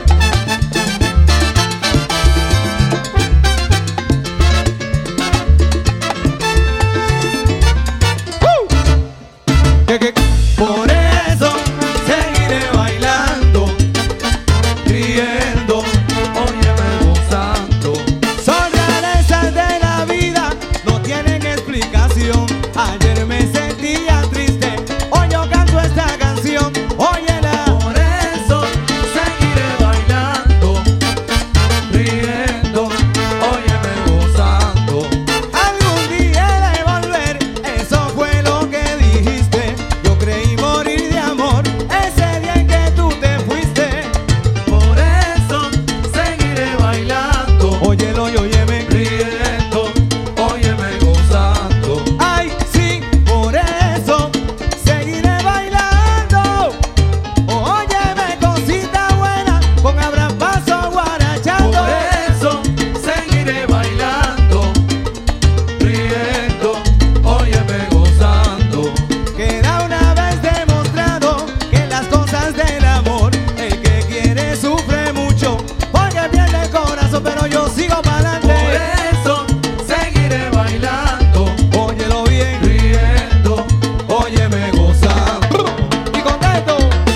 Speaker 11: Por eso seguiré bailando, riendo, óyeme gozando. Son rarezas de la vida, no tienen explicación. Ayer me sentía triste, hoy yo canto esta canción. Óyela. Por eso seguiré bailando, riendo, óyeme gozando. Algún día he de volver, eso fue lo que dijiste. Yo creí morir de amor ese día en que tú te fuiste. Por eso seguiré bailando, óyelo y óyeme, riendo, óyeme gozando. Ay, sí, por eso seguiré bailando. Óyeme, cosita buena, con Abraham Paso guarachando. Por eso seguiré bailando, riendo, óyeme gozando. Queda una vez demostrado que las cosas del amor, el que quiere sufre mucho, porque pierde el corazón, pero yo sigo para adelante. Por eso seguiré bailando, óyelo bien, riendo, óyeme gozando. Y contento.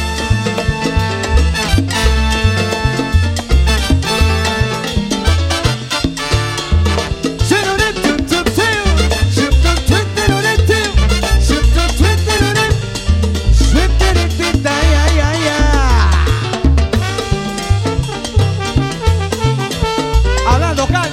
Speaker 11: Hablando cal.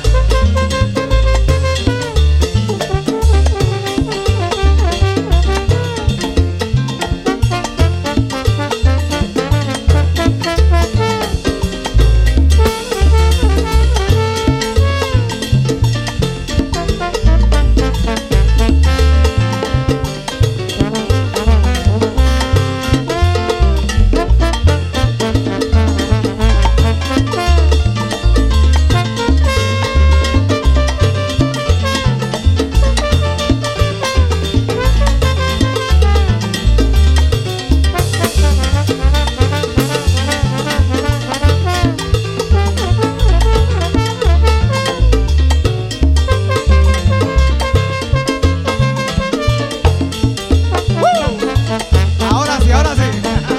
Speaker 11: Ahora sí, ahora sí.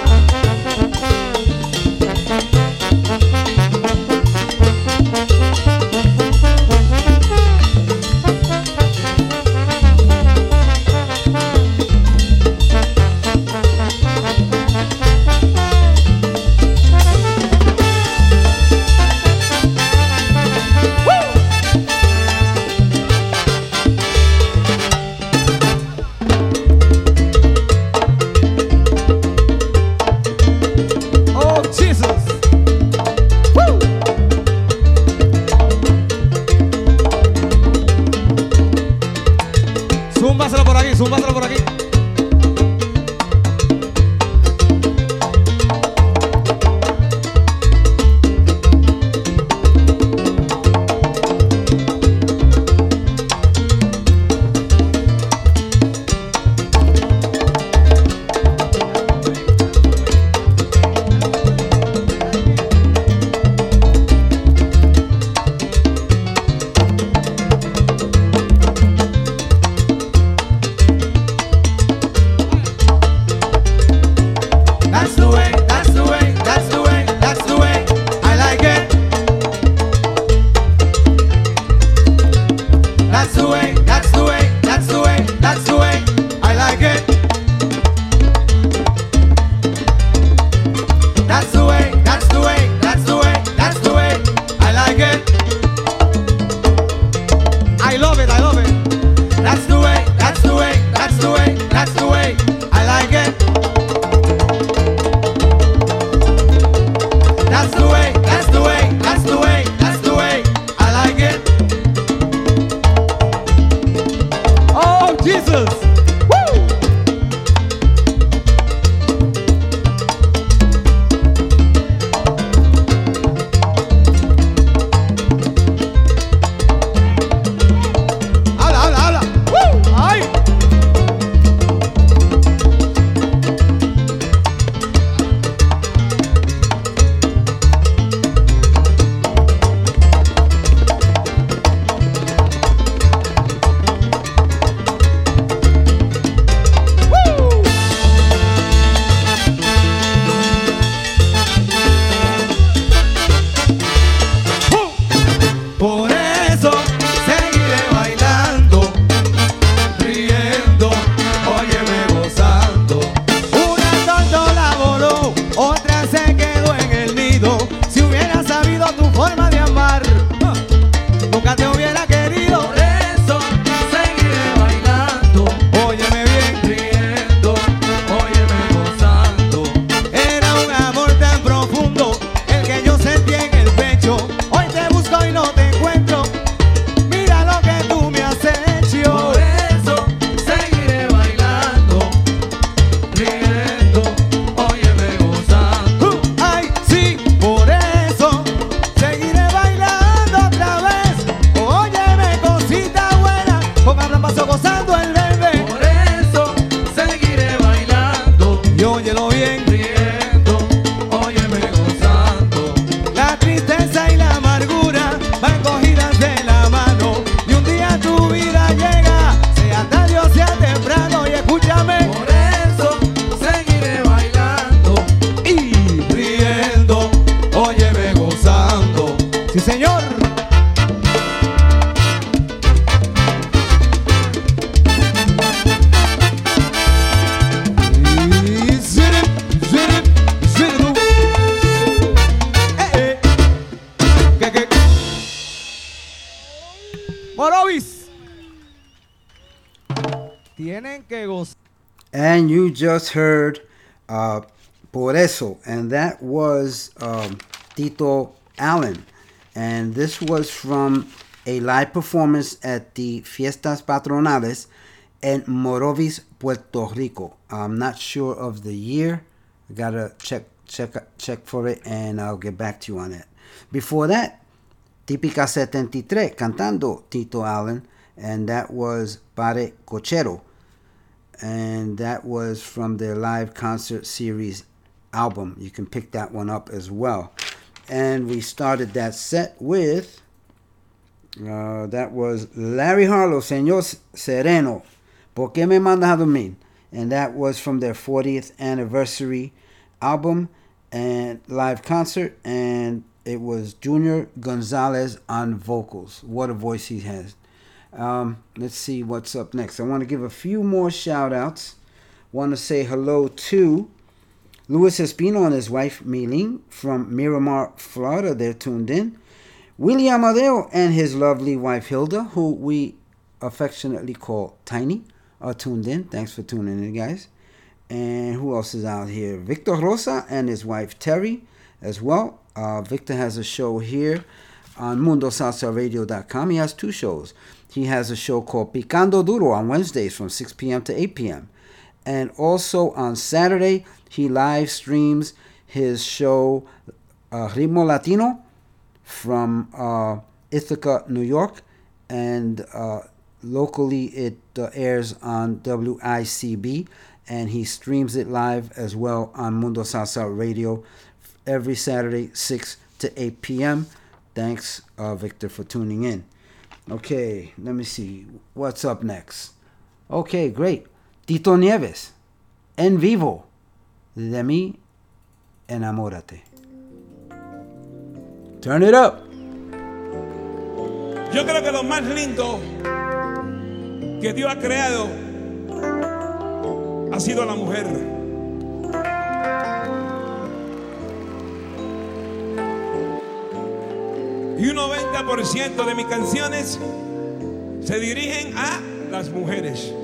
Speaker 11: Oh, Jesus. Woo. Zúmbaselo por aquí, zúmbaselo por aquí. I love it, I love it. That's the way, that's the way, that's the way, that's the way. I like it. That's the way, that's the way, that's the way, that's the way. I like it. Oh, Jesus. Woo! Habla, habla, habla. Woo! Ay. Por eso seguiré bailando, riendo, óyeme gozando. Una tontola voló, otra se quedó en el nido. Si hubiera sabido tu forma de amar, nunca te hubiera querido. Por eso seguiré bailando, óyeme bien, riendo, óyeme gozando. Era un amor tan profundo el que yo sentí en el pecho. Hoy te busco y no te encuentro. Mira lo que tú me has hecho. Por eso seguiré bailando, riendo, óyeme gozando. Ay, sí, por eso seguiré bailando otra vez. Óyeme, cosita buena, con paso gozando el bebé. Por eso seguiré bailando, y óyelo bien, riendo, óyeme gozando. La tristeza y la amargura van cogidas de la mano, y un día tu vida llega, sea tarde o sea temprano, y escúchame. Por eso seguiré bailando y riendo, óyeme gozando. Sí, señor. Y zirip, zirip, ziridu. ¿Qué? Morovis. Tienen que gozar.
Speaker 1: And you just heard Por Eso, and that was Tito Allen. And this was from a live performance at the Fiestas Patronales in Morovis, Puerto Rico. I'm not sure of the year. I gotta check for it, and I'll get back to you on it. Before that, Típica 73, cantando Tito Allen, and that was Pare Cochero. And that was from their live concert series album. You can pick that one up as well. And we started that set with, that was Larry Harlow, Señor Sereno, ¿Por qué me mandas a dormir? And that was from their 40th anniversary album and live concert. And it was Junior Gonzalez on vocals. What a voice he has. Let's see what's up next. I want to give a few more shout outs. Want to say hello to Luis Espino and his wife Milene from Miramar, Florida. They're tuned in. Willie Amadeo and his lovely wife Hilda, who we affectionately call Tiny, are tuned in. Thanks for tuning in, guys. And who else is out here? Victor Rosa and his wife Terry as well. Victor has a show here on MundoSalsaRadio.com. He has two shows. He has a show called Picando Duro on Wednesdays from 6 p.m. to 8 p.m. And also on Saturday, he live streams his show Ritmo Latino from Ithaca, New York. And locally it airs on WICB. And he streams it live as well on Mundo Salsa Radio every Saturday, 6 to 8 p.m. Thanks, Victor, for tuning in. Okay, let me see. What's up next? Okay, great. Tito Nieves, En Vivo, De mí Enamórate. Turn it up.
Speaker 12: Yo creo que lo más lindo que Dios ha creado ha sido la mujer. Y un 90% de mis canciones se dirigen a las mujeres.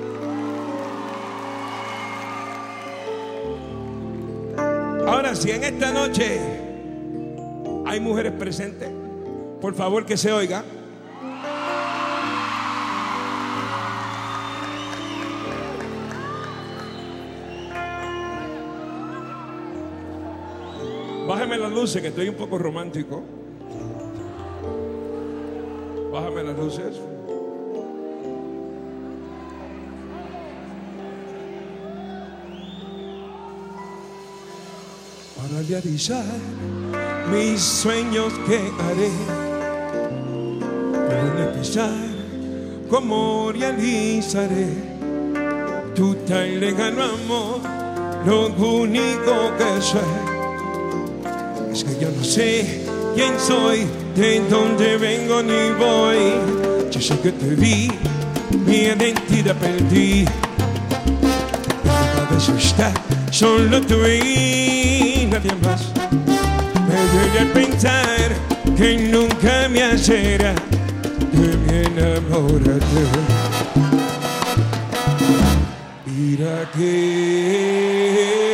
Speaker 12: Ahora, si en esta noche hay mujeres presentes, por favor que se oiga. Bájame las luces, que estoy un poco romántico. Bájame las luces. Para realizar mis sueños que haré, para empezar, ¿cómo realizaré tu tan lejano amor? Lo único que sé es que yo no sé quién soy, de dónde vengo ni voy. Yo sé que te vi, mi identidad perdí. Mi cabeza está solo tú y nadie más. Me duele pensar que nunca me hará de mi enamorarte. Mira que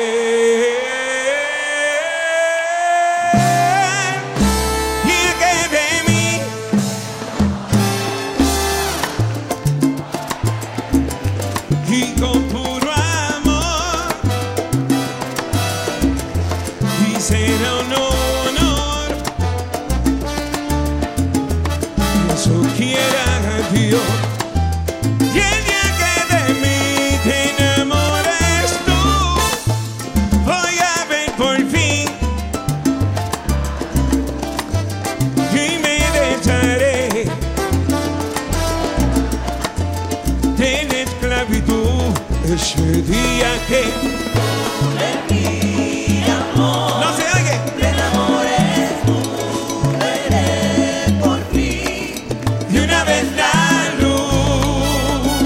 Speaker 12: ese día que de mi amor no se oye, te enamores tú, veré por fin de una vez la luz.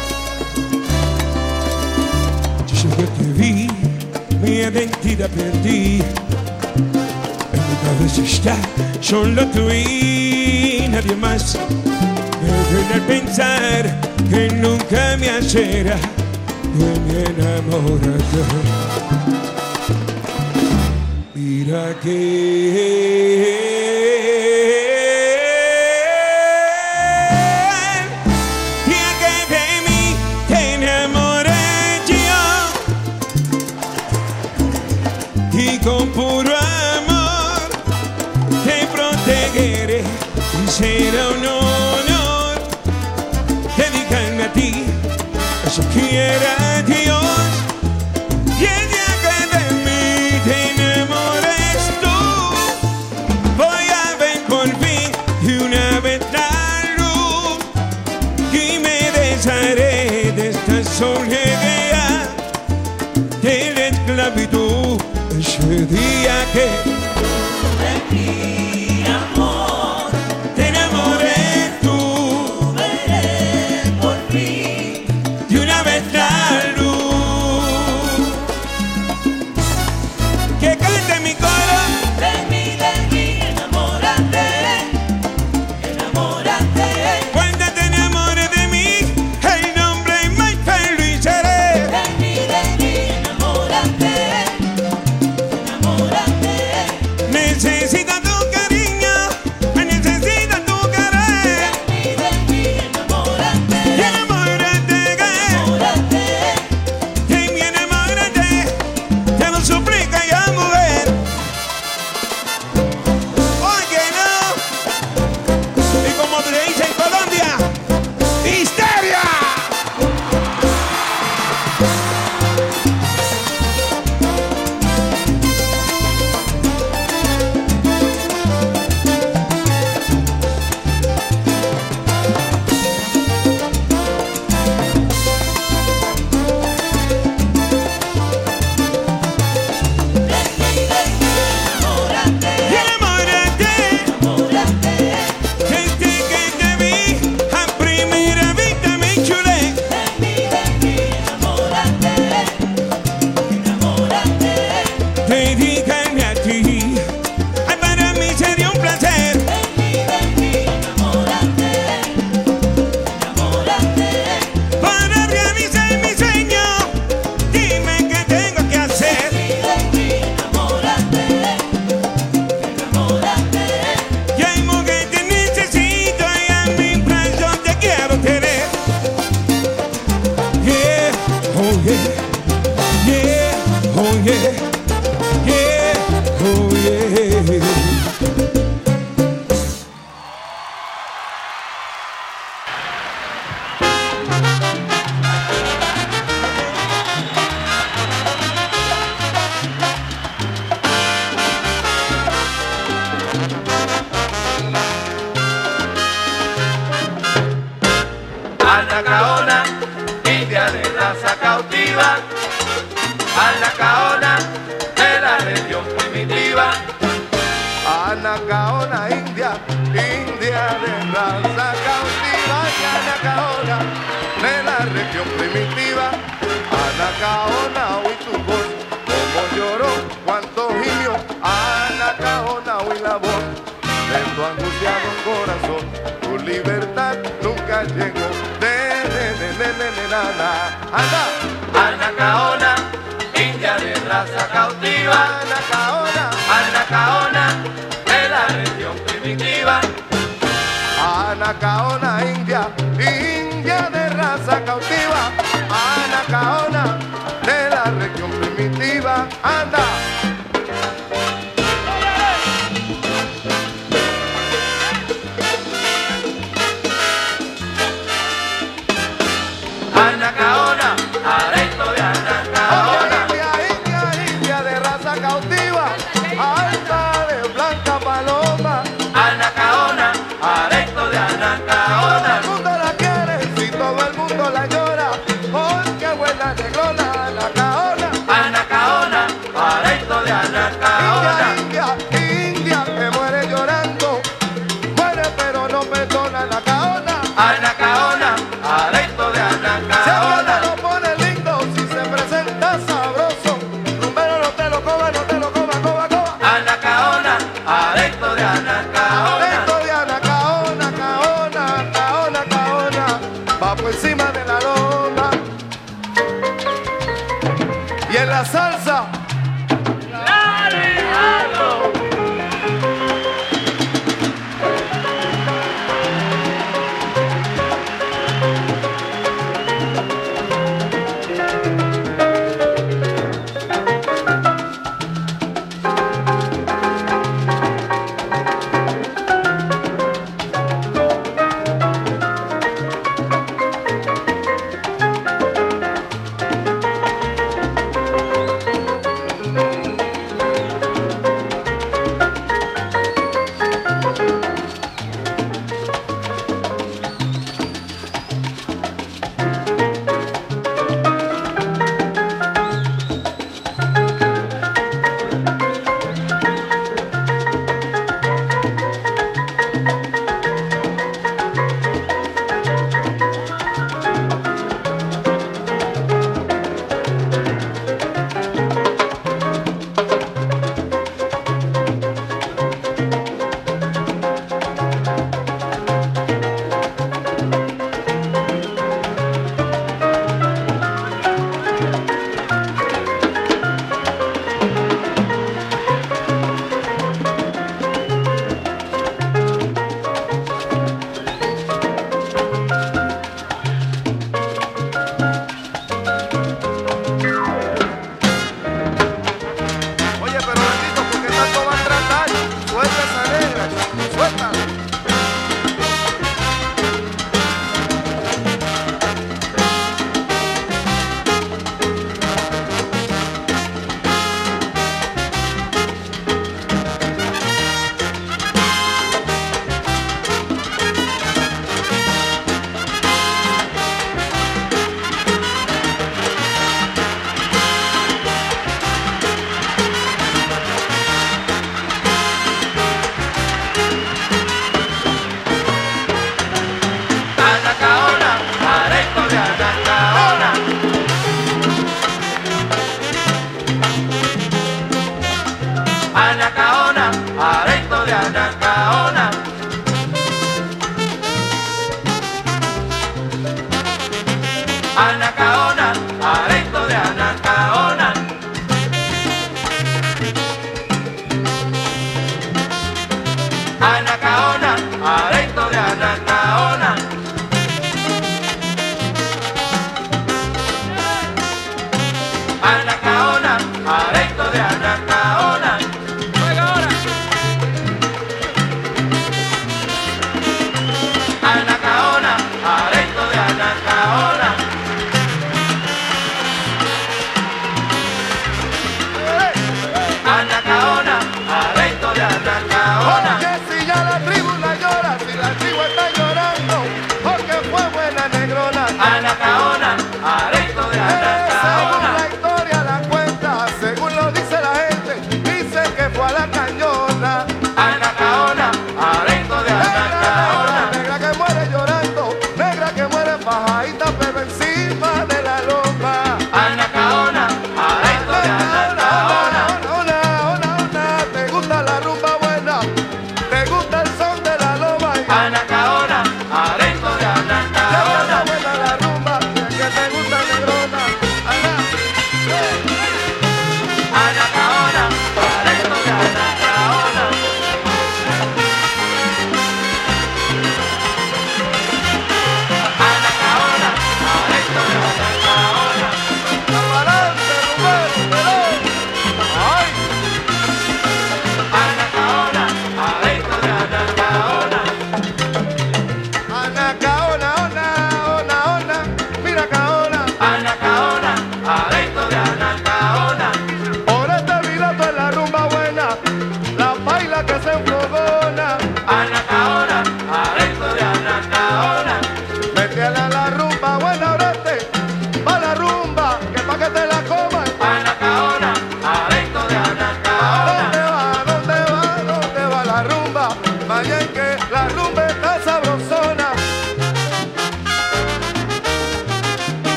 Speaker 12: Yo sé que te vi, mi identidad perdí. En mi cabeza está solo tú y nadie más. Me duele pensar que nunca me hará de mi enamorarte. Mira que de mí te enamoré yo, y con puro amor te protegeré, y será un honor dedicarme a ti. Eso quiera Dios, y el día que de mí te enamores tú, voy a ver por fin de una vez la luz, y me desharé de esta soledad, de la esclavitud. Ese día que de mi amor te enamoré tú, veré por fin de una vez la luz. Que cante mi coro. De mí, enamórate, enamórate. Cuando te enamores de mí, el nombre más feliz seré. De mí, enamórate, enamórate.
Speaker 6: india de raza cautiva, Anacaona, de la región primitiva. Anacaona, oí tu voz, como lloró, cuánto gimió. Anacaona, oí la voz de tu angustiado corazón. Tu libertad nunca llegó. Anda,
Speaker 3: Anacaona, india de raza cautiva.
Speaker 6: Anacaona,
Speaker 3: Anacaona, de la región primitiva.
Speaker 6: Anacaona, india, india de raza cautiva. Anacaona, de la región primitiva. Anda.
Speaker 3: Anacaona, aresto de Anacaona.
Speaker 6: India de raza cautiva, alta de blanca paloma.
Speaker 3: Anacaona, aresto de
Speaker 6: Todo
Speaker 3: Anacaona.
Speaker 6: el mundo la quiere, si todo el mundo la llora, porque buena negrona, Anacaona.
Speaker 3: Anacaona, aresto de Anacaona.
Speaker 6: India que muere llorando, muere pero no perdona, Anacaona.
Speaker 3: Anacaona, aresto de
Speaker 6: Si ella
Speaker 3: Anacaona.
Speaker 6: lo pone lindo, si se presenta sabroso, rumbero no te lo coma, no te lo coma, coma, coma.
Speaker 3: Anacaona, aresto de Anacaona.
Speaker 6: Esto de Anacaona, Caona, Caona, Caona, va por encima de la loma. Y en la salsa,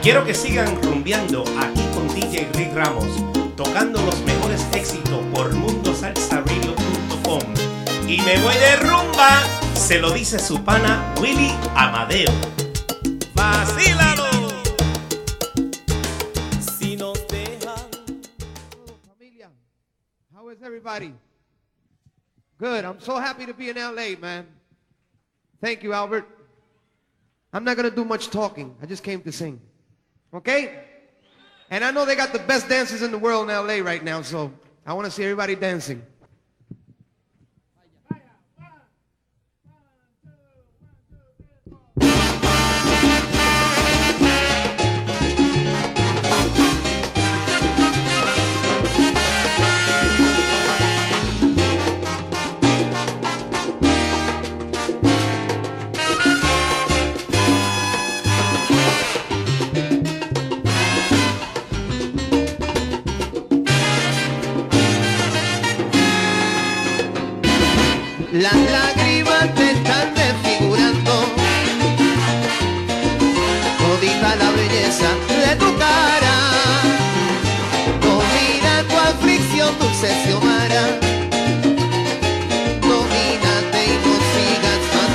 Speaker 13: Quiero que sigan rumbeando aquí con DJ Rick Ramos, tocando los mejores éxitos por mundosalsaradio.com. Y me voy de rumba, se lo dice su pana Willy Amadeo. ¡Vacílalo!
Speaker 14: Si nos dejan. Familia, how is everybody? Good. I'm so happy to be in LA, man. Thank you, Albert. I'm not going to do much talking. I just came to sing. Okay? And I know they got the best dancers in the world in LA right now, so I want to see everybody dancing.
Speaker 15: Las lágrimas te están desfigurando, todita la belleza de tu cara. Domina tu aflicción, dulce Xiomara. Domínate y no sigas más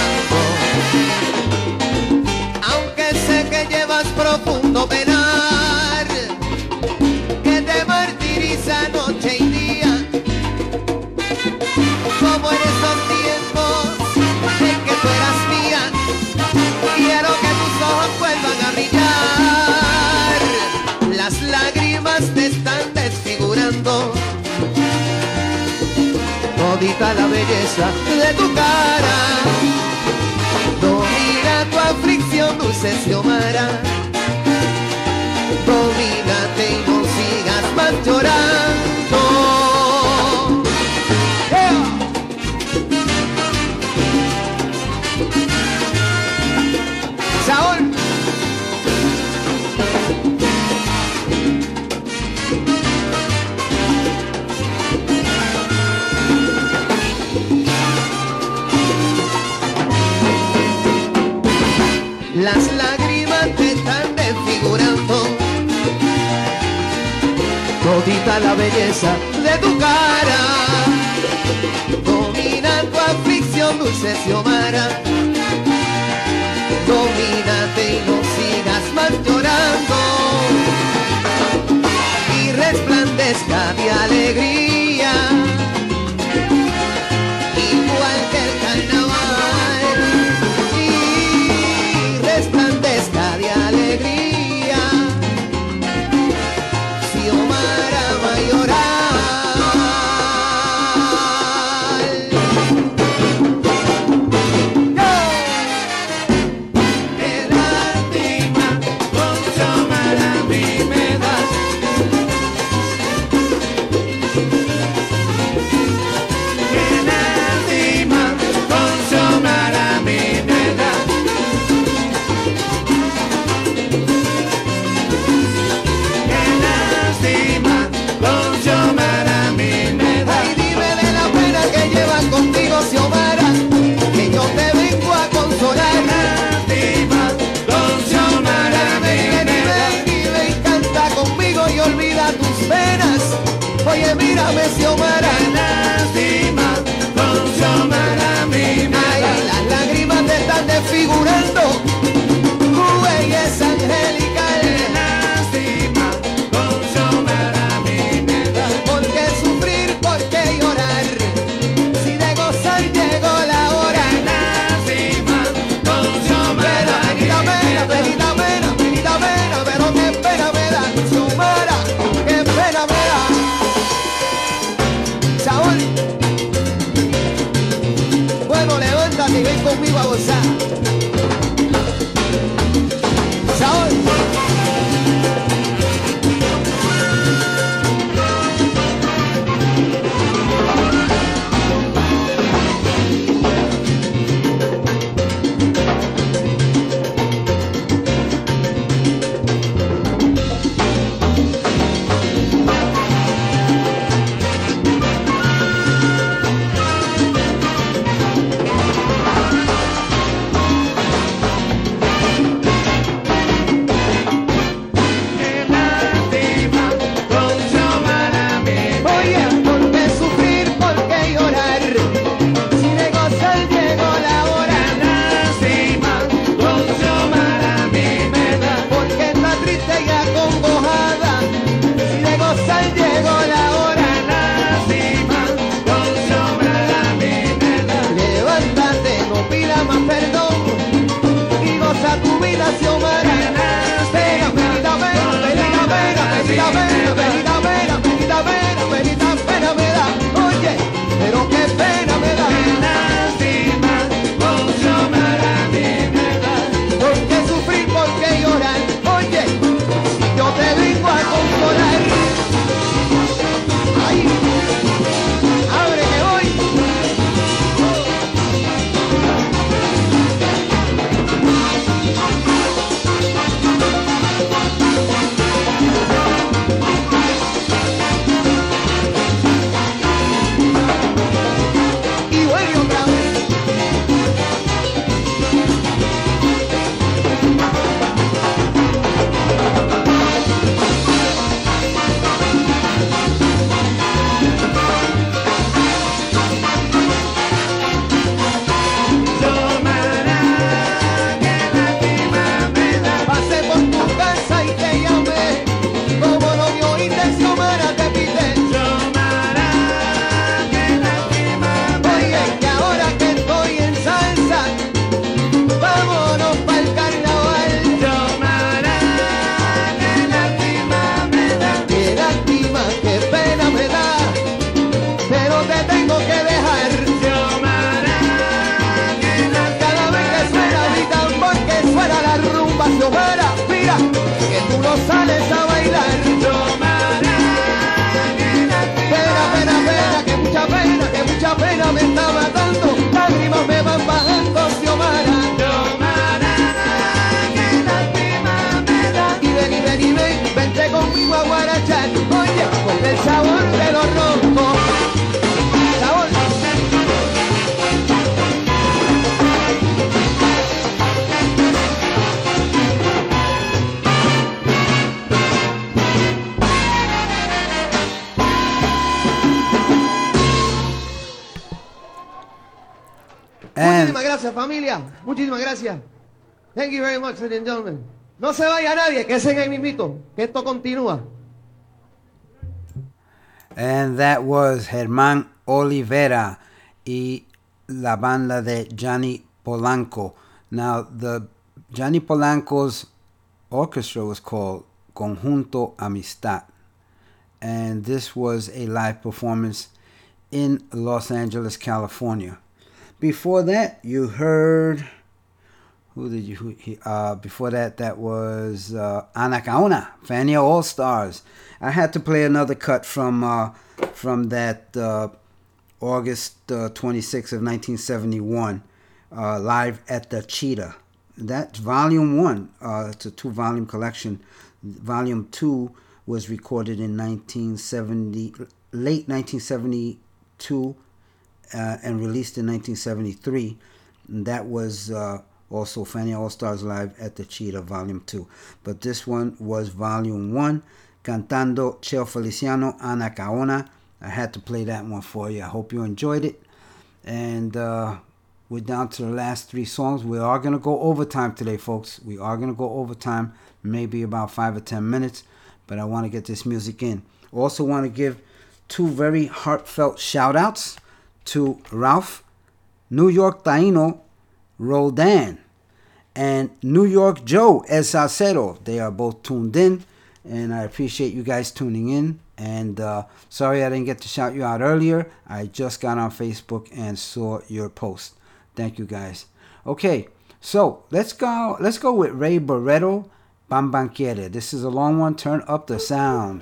Speaker 15: llorando. Aunque sé que llevas profundo penar, que te martiriza noche y día. Como en esos tiempos en que tú eras mía, quiero que tus ojos vuelvan a brillar. Las lágrimas te están desfigurando, todita la belleza de tu cara. Domina tu aflicción, dulce Xiomara. Domínate y no sigas más llorando. Saúl. Las lágrimas te están desfigurando, todita la belleza de tu cara. Domina tu aflicción, dulce Xiomara. Domínate y no sigas más llorando, y resplandezca de alegría, igual que el carnaval, y resplandezca de alegría, Xiomara Mayoral. Xiomara, que yo te vengo a consolar. Lástima, con Xiomara vive y canta conmigo y olvida tus penas. Oye, mírame Xiomara. Lástima, con Xiomara ay, las lágrimas te están desfigurando, tu belleza angelical. Lástima, con Xiomara ¿por qué sufrir, por qué llorar? Llegó la hora. Lástima, con Xiomara. Penita pena, pero qué pena me da, Xiomara, qué pena me da. Saúl. el sabor de los roncos. Sabor. Muchísimas gracias, familia. Muchísimas gracias. Thank you very much, ladies and gentlemen. No se vaya nadie, que ese ahí mismito, que esto continúa.
Speaker 1: And that was Germán Olivera y la banda de Johnny Polanco. Now, the Johnny Polanco's orchestra was called Conjunto Amistad. And this was a live performance in Los Angeles, California. Before that, you heard... before that was Anacaona, Fania All Stars. I had to play another cut from that August 26th of 1971, live at the Cheetah. That's Volume 1. It's a 2-volume collection. Volume 2 was recorded in late 1972 and released in 1973. And that was... also, Fania All Stars Live at the Cheetah, Volume 2. But this one was Volume 1, Cantando Cheo Feliciano, Anacaona. I had to play that one for you. I hope you enjoyed it. And we're down to the last 3 songs. We are going to go overtime today, folks. We are going to go overtime, maybe about 5 or 10 minutes. But I want to get this music in. Also want to give 2 very heartfelt shout-outs to Ralph, New York Taino, Roldan, and New York Joe El Salcero. They are both tuned in, and I appreciate you guys tuning in. And sorry I didn't get to shout you out earlier. I just got on Facebook and saw your post. Thank you guys. Okay, so let's go with Ray Barretto, Bambanquiere. This is a long one. Turn up the sound.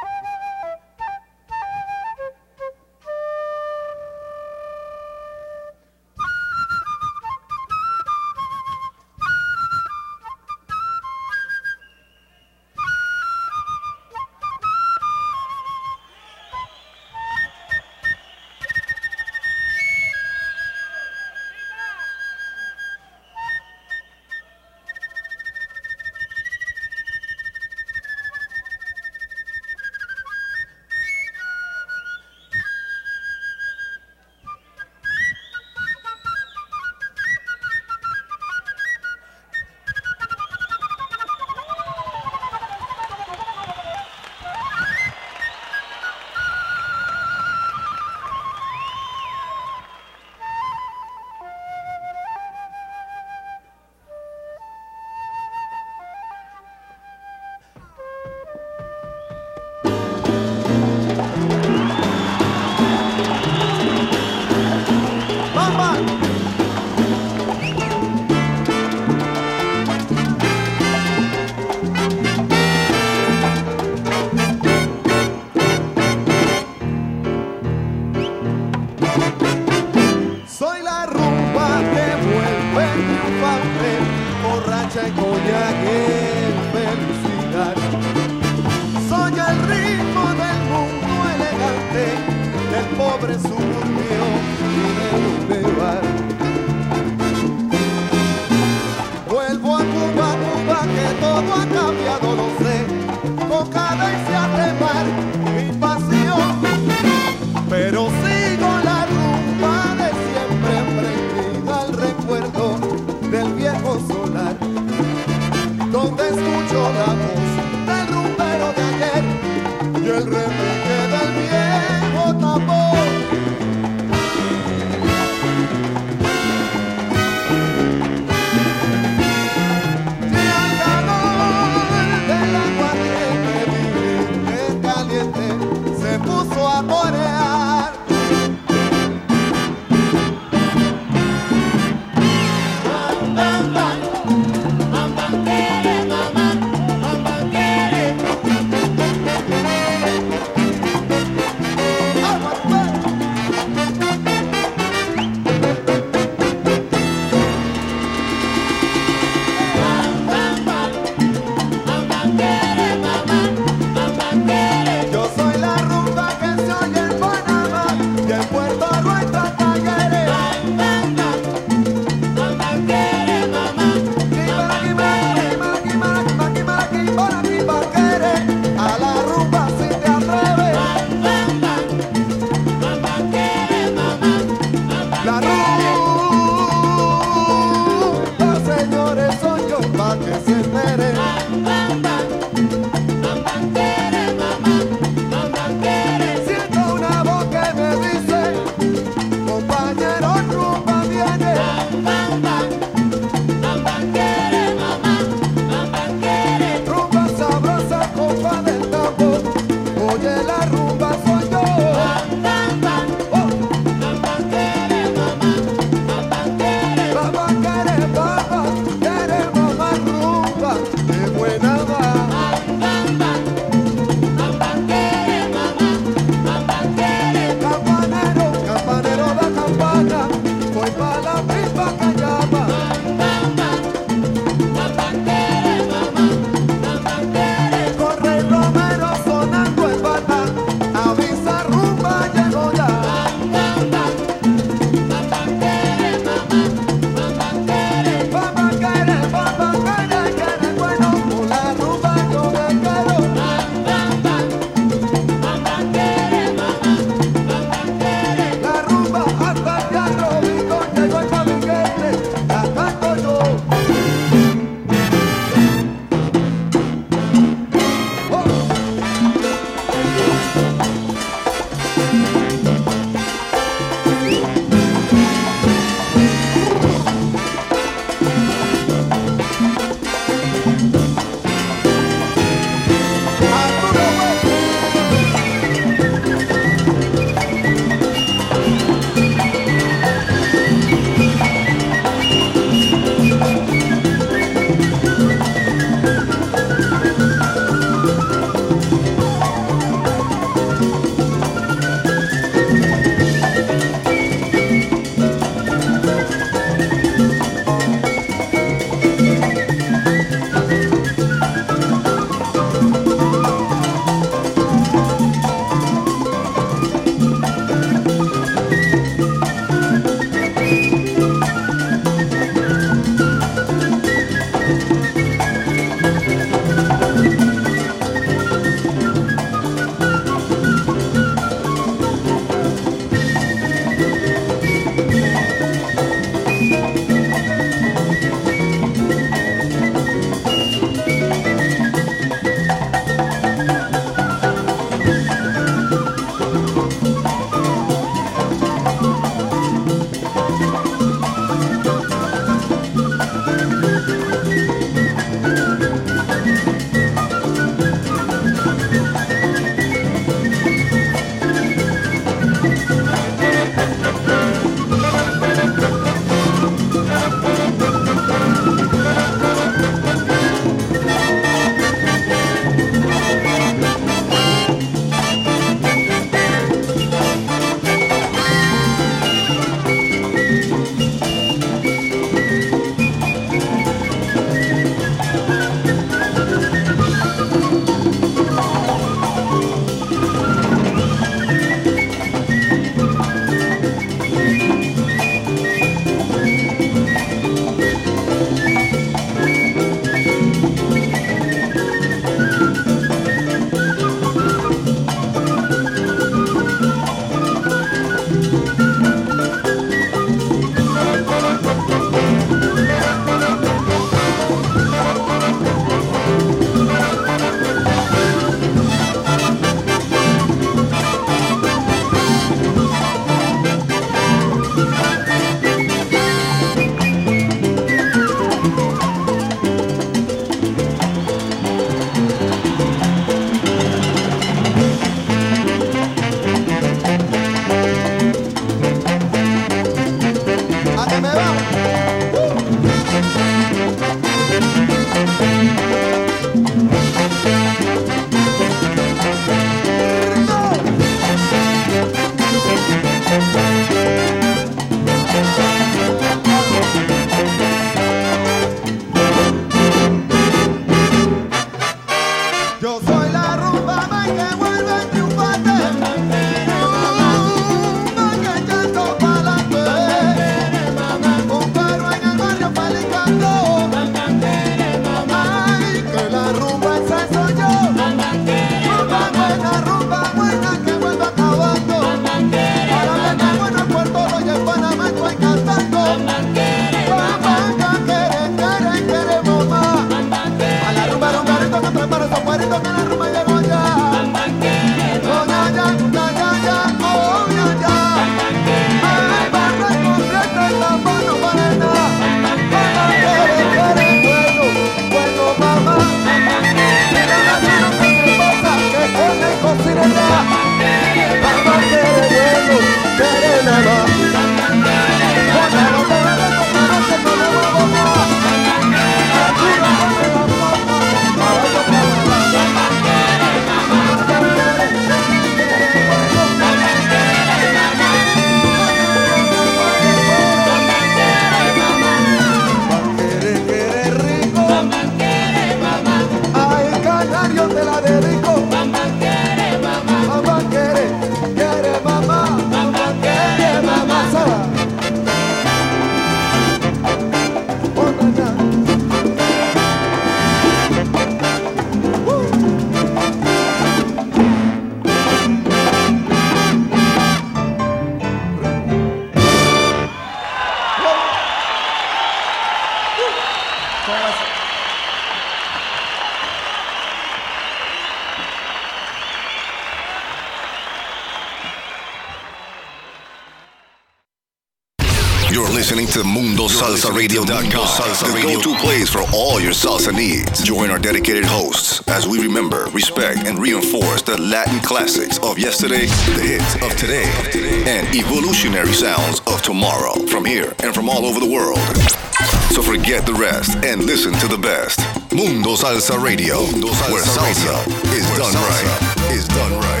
Speaker 5: You're listening to MundoSalsaRadio.com, the go-to place for all your salsa needs. Join our dedicated hosts as we remember, respect, and reinforce the Latin classics of yesterday, the hits of today, and evolutionary sounds of tomorrow from here and from all over the world. So forget the rest and listen to the best. Mundo Salsa Radio, where salsa is done right. Is done right.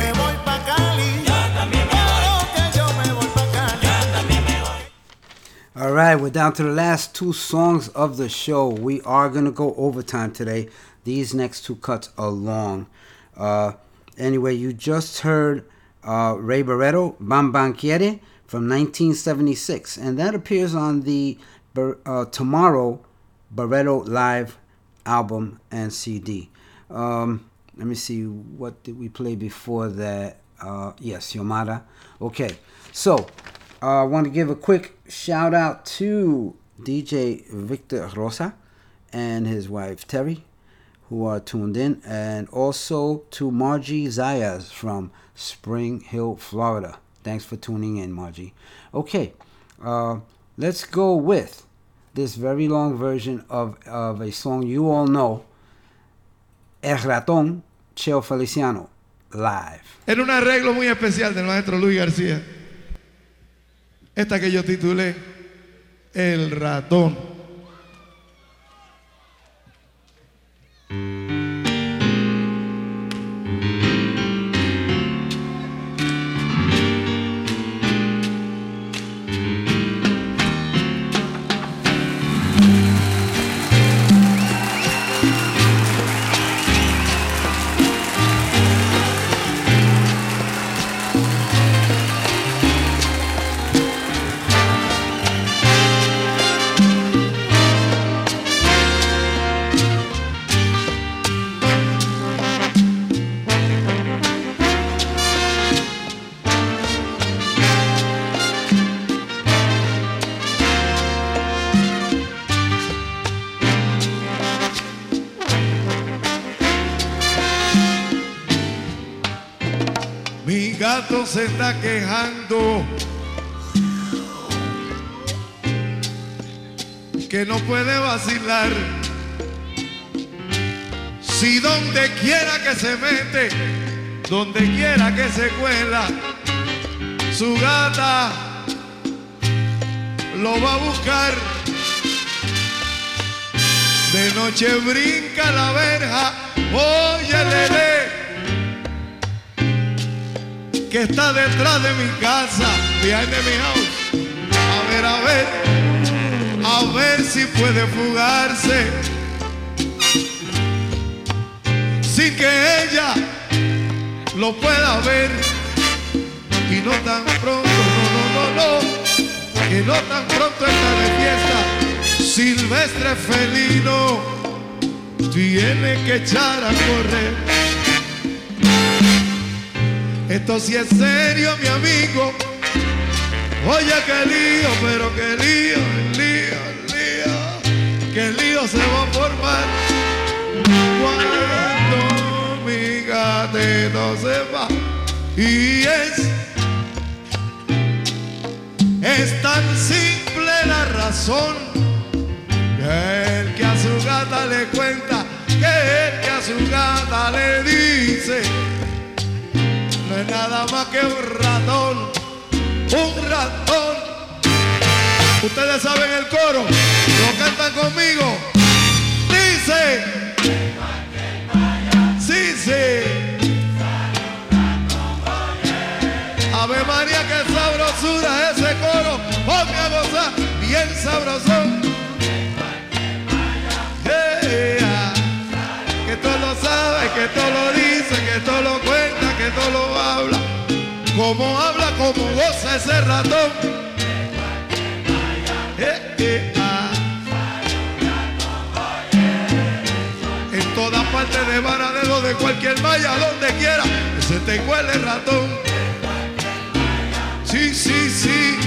Speaker 1: All right, we're down to the last two songs of the show. We are going to go overtime today. These next two cuts are long. Anyway, you just heard Ray Barretto, Bam Bam Quiere, from 1976. And that appears on the Tomorrow Barretto Live album and CD. Let me see, what did we play before that? Yes, Yomara. Okay, so I want to give a quick shout out to DJ Victor Rosa and his wife Terry, who are tuned in, and also to Margie Zayas from Spring Hill, Florida. Thanks for tuning in, Margie. Okay, let's go with this very long version of a song you all know, El Ratón, Cheo Feliciano, live.
Speaker 4: Era un arreglo muy especial del maestro Luis García. Esta que yo titulé El Ratón. Se está quejando que no puede vacilar, si donde quiera que se mete, donde quiera que se cuela, su gata lo va a buscar. De noche brinca la verja, óyele, que está detrás de mi casa, behind mi house. A ver si puede fugarse sin que ella lo pueda ver. Y no tan pronto, no, que no tan pronto está de fiesta, silvestre felino tiene que echar a correr. Esto sí es serio, mi amigo. Oye, qué lío, pero qué lío, qué lío se va a formar cuando mi gatito se va. Y es tan simple la razón, que el que a su gata le cuenta, que el que a su gata le dice, no es nada más que un ratón, un ratón. Ustedes saben el coro, lo cantan conmigo. Dice, sí, sí. Ave María, qué sabrosura ese coro. Ponme a gozar, bien sabrosón. Que todo lo sabe, que todo lo dice, que todo lo cuenta, que todo lo habla. Como habla, como goza ese ratón. En todas partes de Varadero, de cualquier malla, donde quiera, que se te huele el ratón. Sí, sí, sí.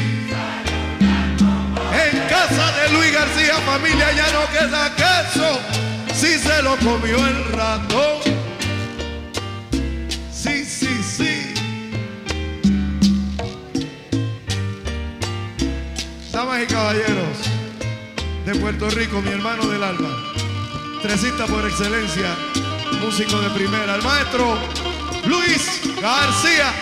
Speaker 4: En casa de Luis García, familia, ya no queda queso, si se lo comió el ratón. Sí, sí, sí. Damas y caballeros de Puerto Rico, mi hermano del alma, tresista por excelencia, músico de primera, el maestro Luis García.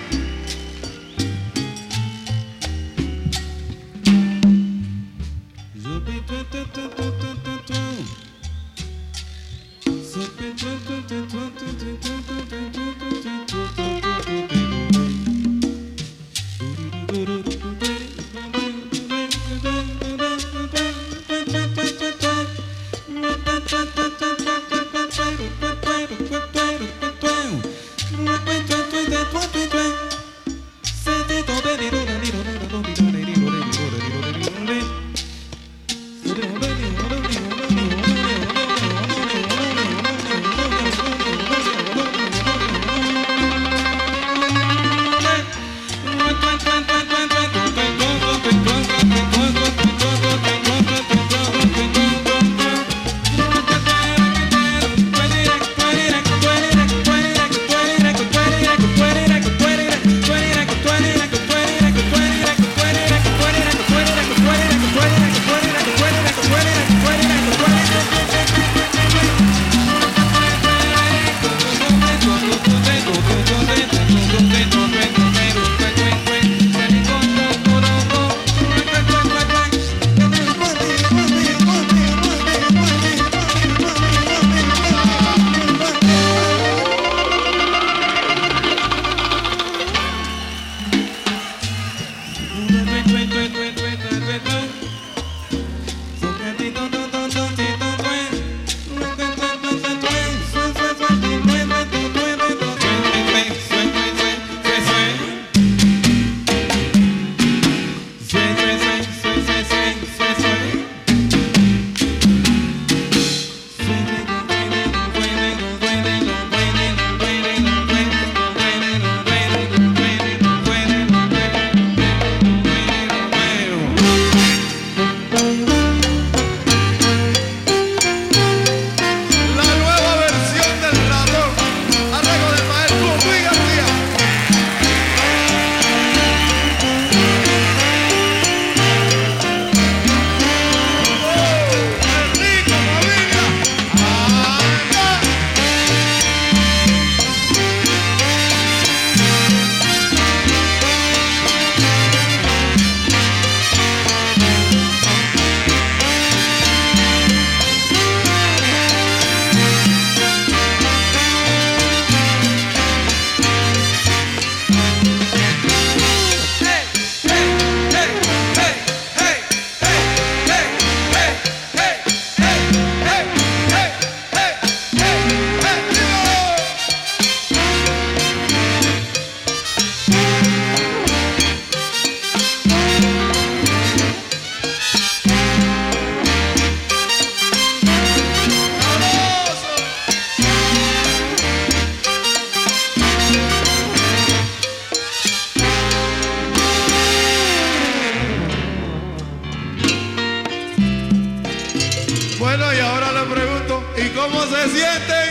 Speaker 4: Bueno, y ahora le pregunto, ¿y cómo se sienten?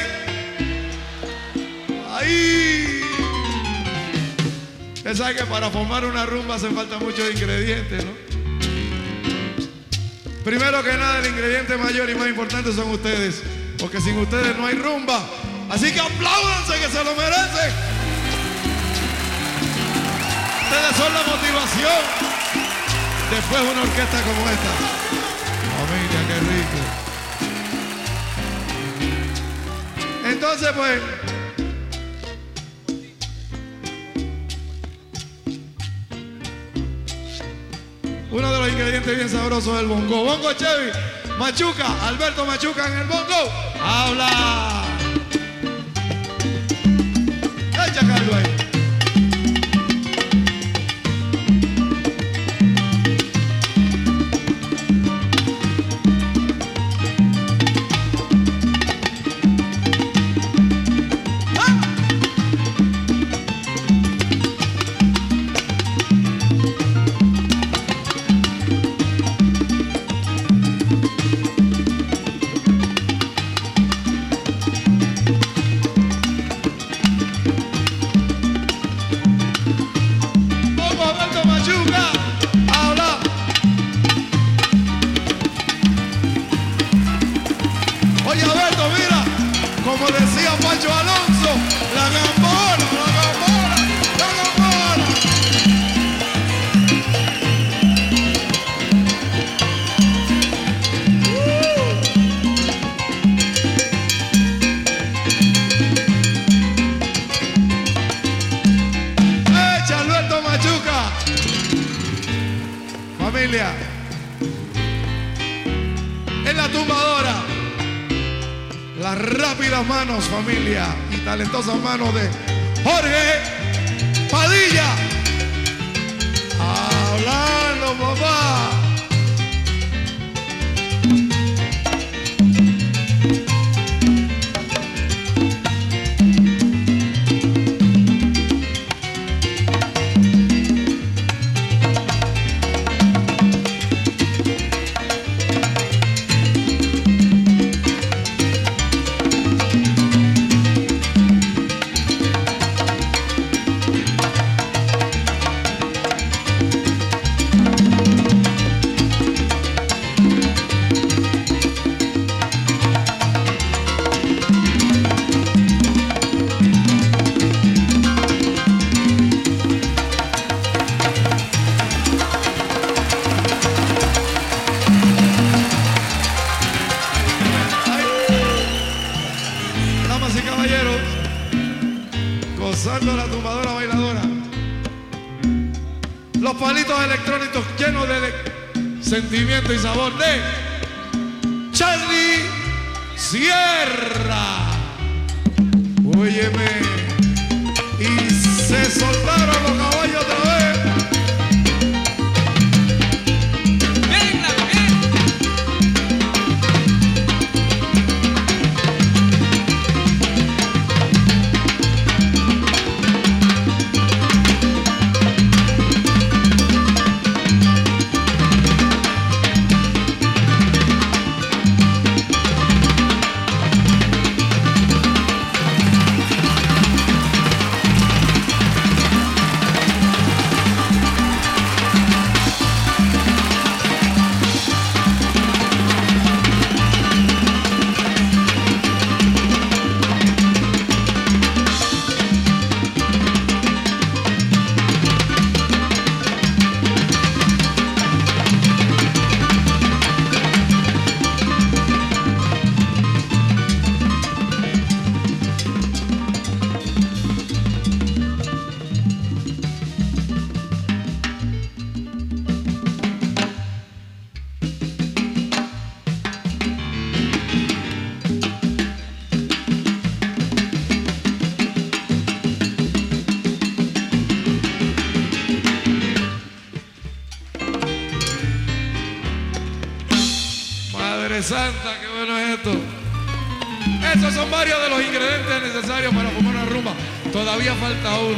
Speaker 4: ¡Ay! Usted sabe que para formar una rumba hacen falta muchos ingredientes, ¿no? Primero que nada, el ingrediente mayor y más importante son ustedes, porque sin ustedes no hay rumba. Así que apláudanse, que se lo merecen. Ustedes son la motivación. Después una orquesta como esta. Familia, qué rico. Entonces, pues, uno de los ingredientes bien sabrosos es el bongo. Bongo Chevy, Machuca, Alberto Machuca en el bongo. ¡Habla! Echa Carlos ahí. Familia. En la tumbadora. Las rápidas manos, familia. Y talentosas manos de Jorge Padilla. Hablando, papá. Gozando la tumbadora bailadora. Los palitos electrónicos llenos de sentimiento y sabor de Charlie Sierra. Óyeme. Y se soltaron los caballos otra vez. Santa, qué bueno es esto. Estos son varios de los ingredientes necesarios para formar una rumba. Todavía falta uno.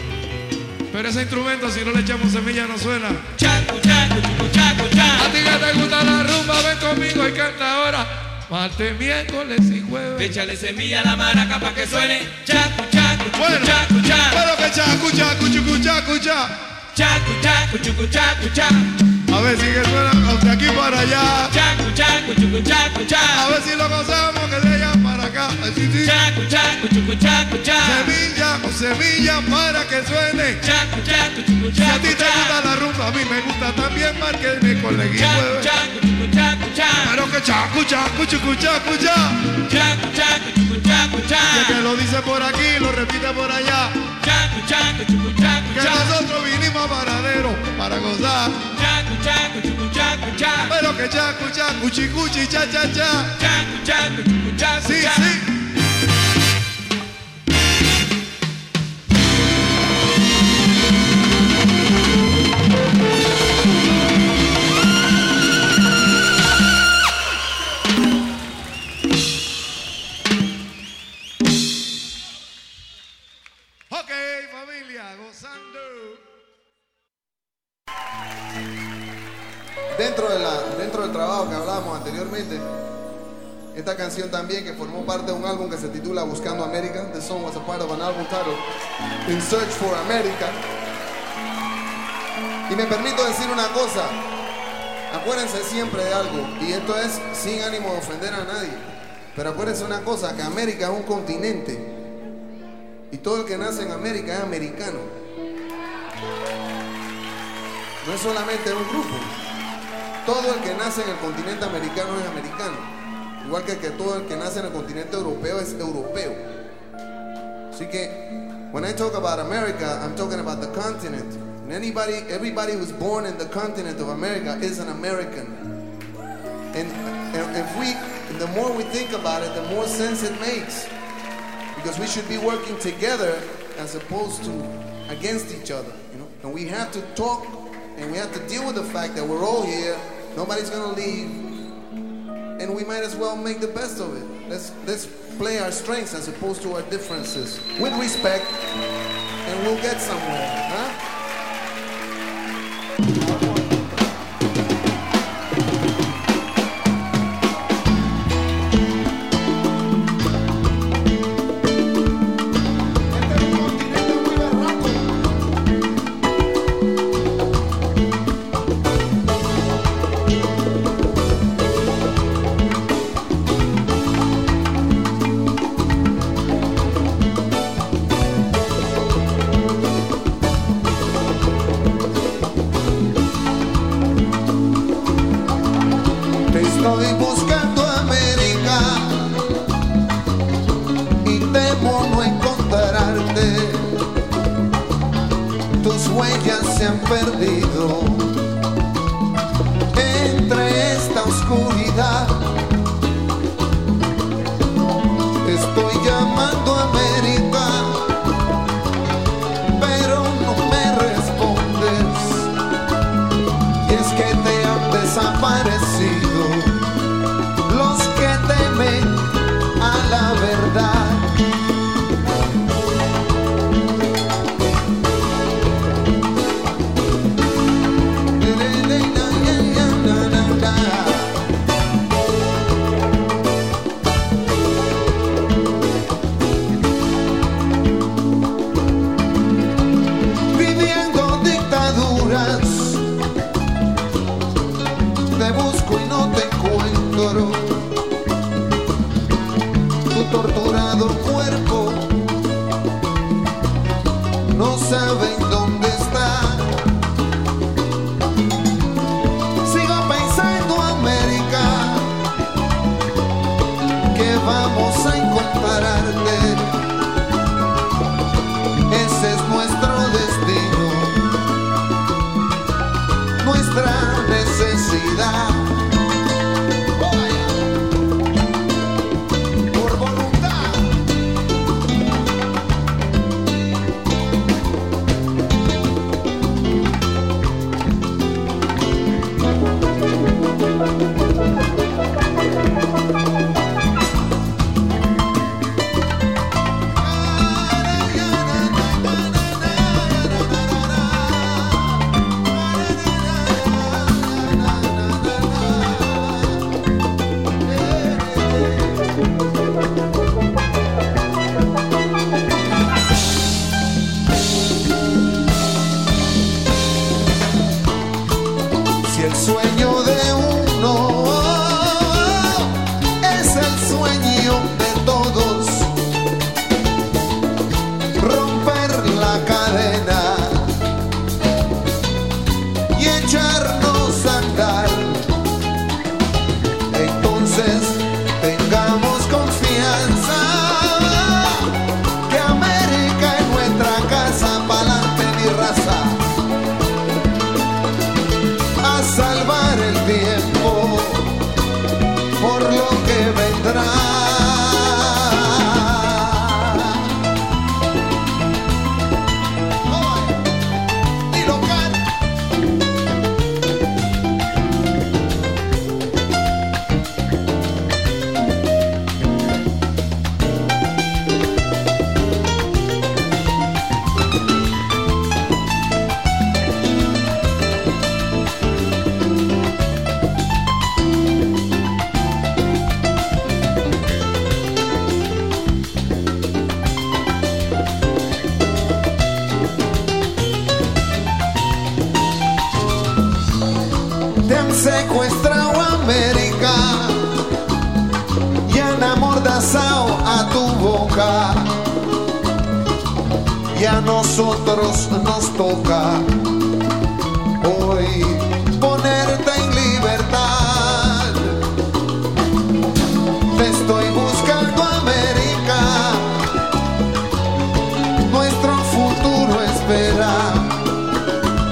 Speaker 4: Pero ese instrumento, si no le echamos semilla, no suena. Chacu, chacu, chucu, chacu, chacu. A ti que te gusta la rumba, ven conmigo y canta ahora. Martes, miércoles y jueves. Échale semilla a la maraca para que suene. Chacu, chacu, chucu, bueno, chacu, chacu. Pero que chacu, chacu, chucu, chacu, chacu. Chacu, chacu, chucu, chacu, chacu. A ver si que suena de aquí para allá. Chacu, chacu, chucu, chacu, chacu. A ver si lo gozamos que de allá para acá. Chacu, chacu, chucu, chacu, chacu. Semilla o semilla para que suene. Chacu, chacu, chucu, chacu. Si a ti te gusta la rumba, a mí me gusta también, márquenme con la guía. Chacu, chacu, chucu, chacu, chacu. Pero que chacu, chacu, chucu, chacu, chacu. Chacu, chacu, chucu, chacu, chacu. Y el que lo dice por aquí, lo repite por allá. Chacu, chacu, chucu, chacu, chacu. Que nosotros vinimos a Varadero para gozar. Chacu, chacu, chucu, chacu, chacu. Pero que chacu, chacu, chicuchi, cha, cha, cha. Chacu, chacu, chucu, chacu, sí, chacu. Sí. Ok, familia, gozando.
Speaker 16: Dentro del trabajo que hablábamos anteriormente, esta canción también que formó parte de un álbum que se titula Buscando América. The song was a part of an album titled In Search for America. Y me permito decir una cosa, acuérdense siempre de algo, y esto es sin ánimo de ofender a nadie, pero acuérdense una cosa, que América es un continente y todo el que nace en América es americano. No es solamente un grupo. Todo el que nace en el continente americano es americano. Igual que todo el que nace en el continente europeo es europeo. Así que, when I talk about America, I'm talking about the continent. And everybody who's born in the continent of America is an American. And the more we think about it, the more sense it makes. Because we should be working together as opposed to against each other, you know. And we have to talk and we have to deal with the fact that we're all here. Nobody's gonna leave, and we might as well make the best of it. Let's play our strengths as opposed to our differences with respect, and we'll get somewhere, huh?
Speaker 4: Estoy buscando América y temo no encontrarte. Tus huellas se han perdido entre esta oscuridad. Estoy llamando a América, pero no me respondes. Y es que te han desaparecido los que temen a la verdad. Viviendo dictaduras, te busco y no te encuentro. Tu torturado cuerpo no saben dónde está. Sigo pensando, América, que vamos a encontrarte. Ese es nuestro destino, nuestra necesidad. Si el sueño de uno es el sueño de todos, romper la cadena y echarnos a andar, entonces tengamos confianza que América es nuestra casa. Pa'lante mi raza, a salvar el tiempo por lo que vendrá. Y local. Te han secuestrado, América, y han amordazado a tu boca, y a nosotros nos toca hoy ponerte en libertad. Te estoy buscando, América, nuestro futuro espera.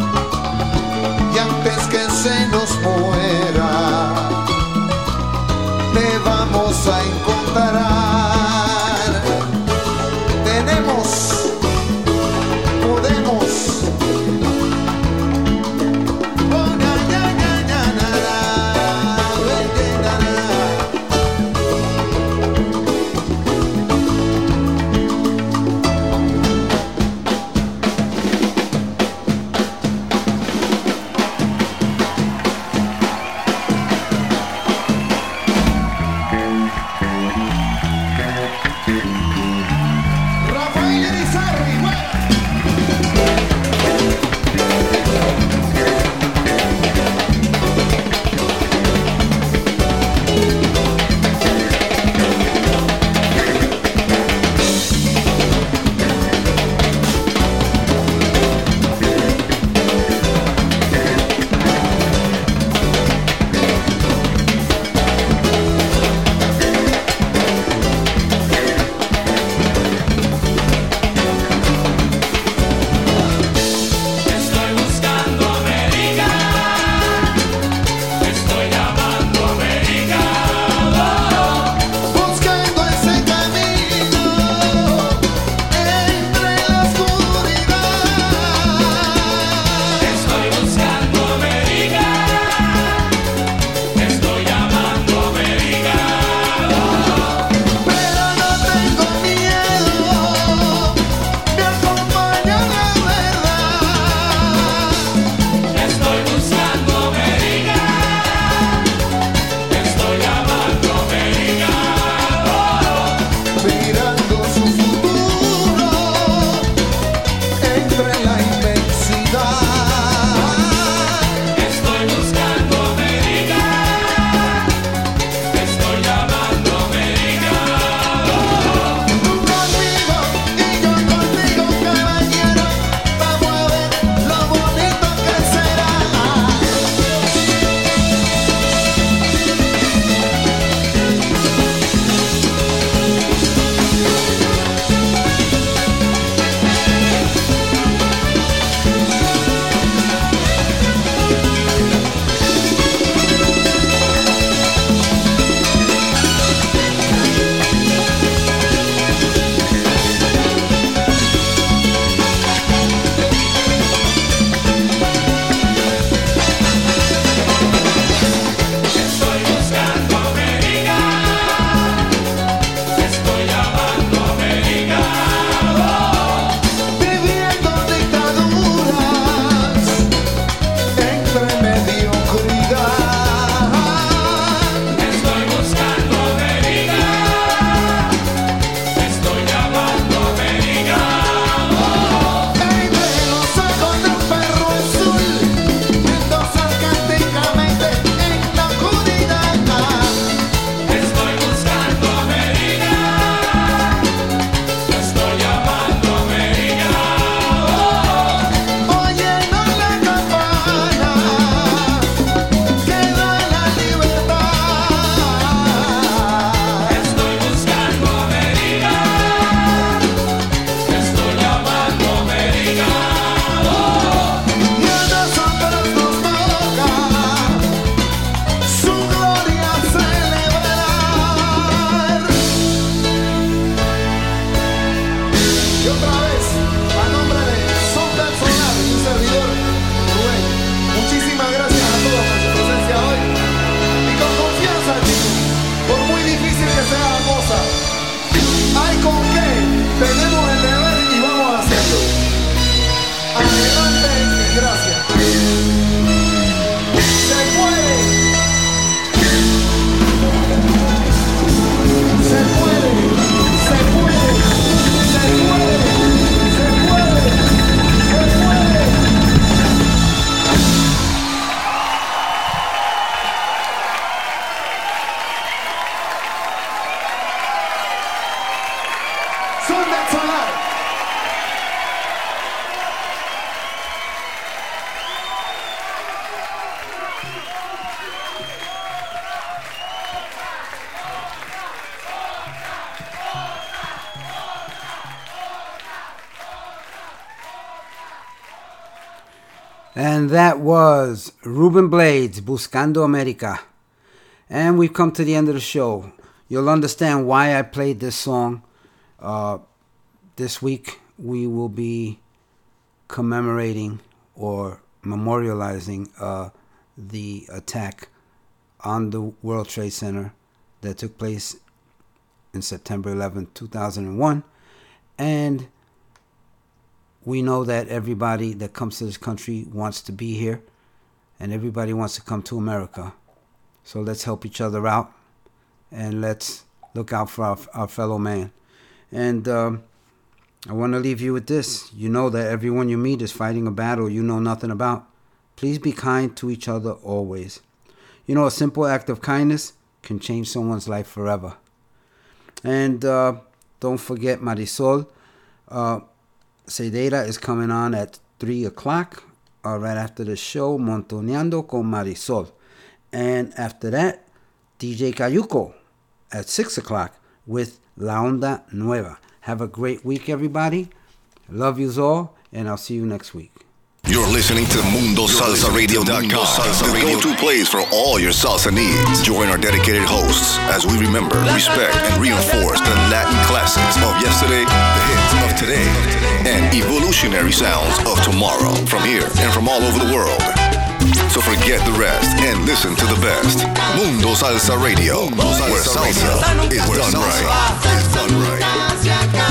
Speaker 1: And that was Ruben Blades, Buscando America. And we've come to the end of the show. You'll understand why I played this song. This week we will be commemorating or memorializing the attack on the World Trade Center that took place in September 11, 2001. And we know that everybody that comes to this country wants to be here, and everybody wants to come to America. So let's help each other out, and let's look out for our fellow man. And I want to leave you with this. You know that everyone you meet is fighting a battle you know nothing about. Please be kind to each other always. You know, a simple act of kindness can change someone's life forever. And don't forget Marisol Cedeira is coming on at 3 o'clock, right after the show, Montoneando con Marisol. And after that, DJ Cayuco at 6 o'clock with La Onda Nueva. Have a great week, everybody. Love yous all, and I'll see you next week.
Speaker 5: You're listening to MundoSalsaRadio.com, the go-to place for all your salsa needs. Join our dedicated hosts as we remember, respect, and reinforce the Latin classics of yesterday, the hits of today, and evolutionary sounds of tomorrow from here and from all over the world. So forget the rest and listen to the best. Mundo Salsa Radio, where salsa is done right.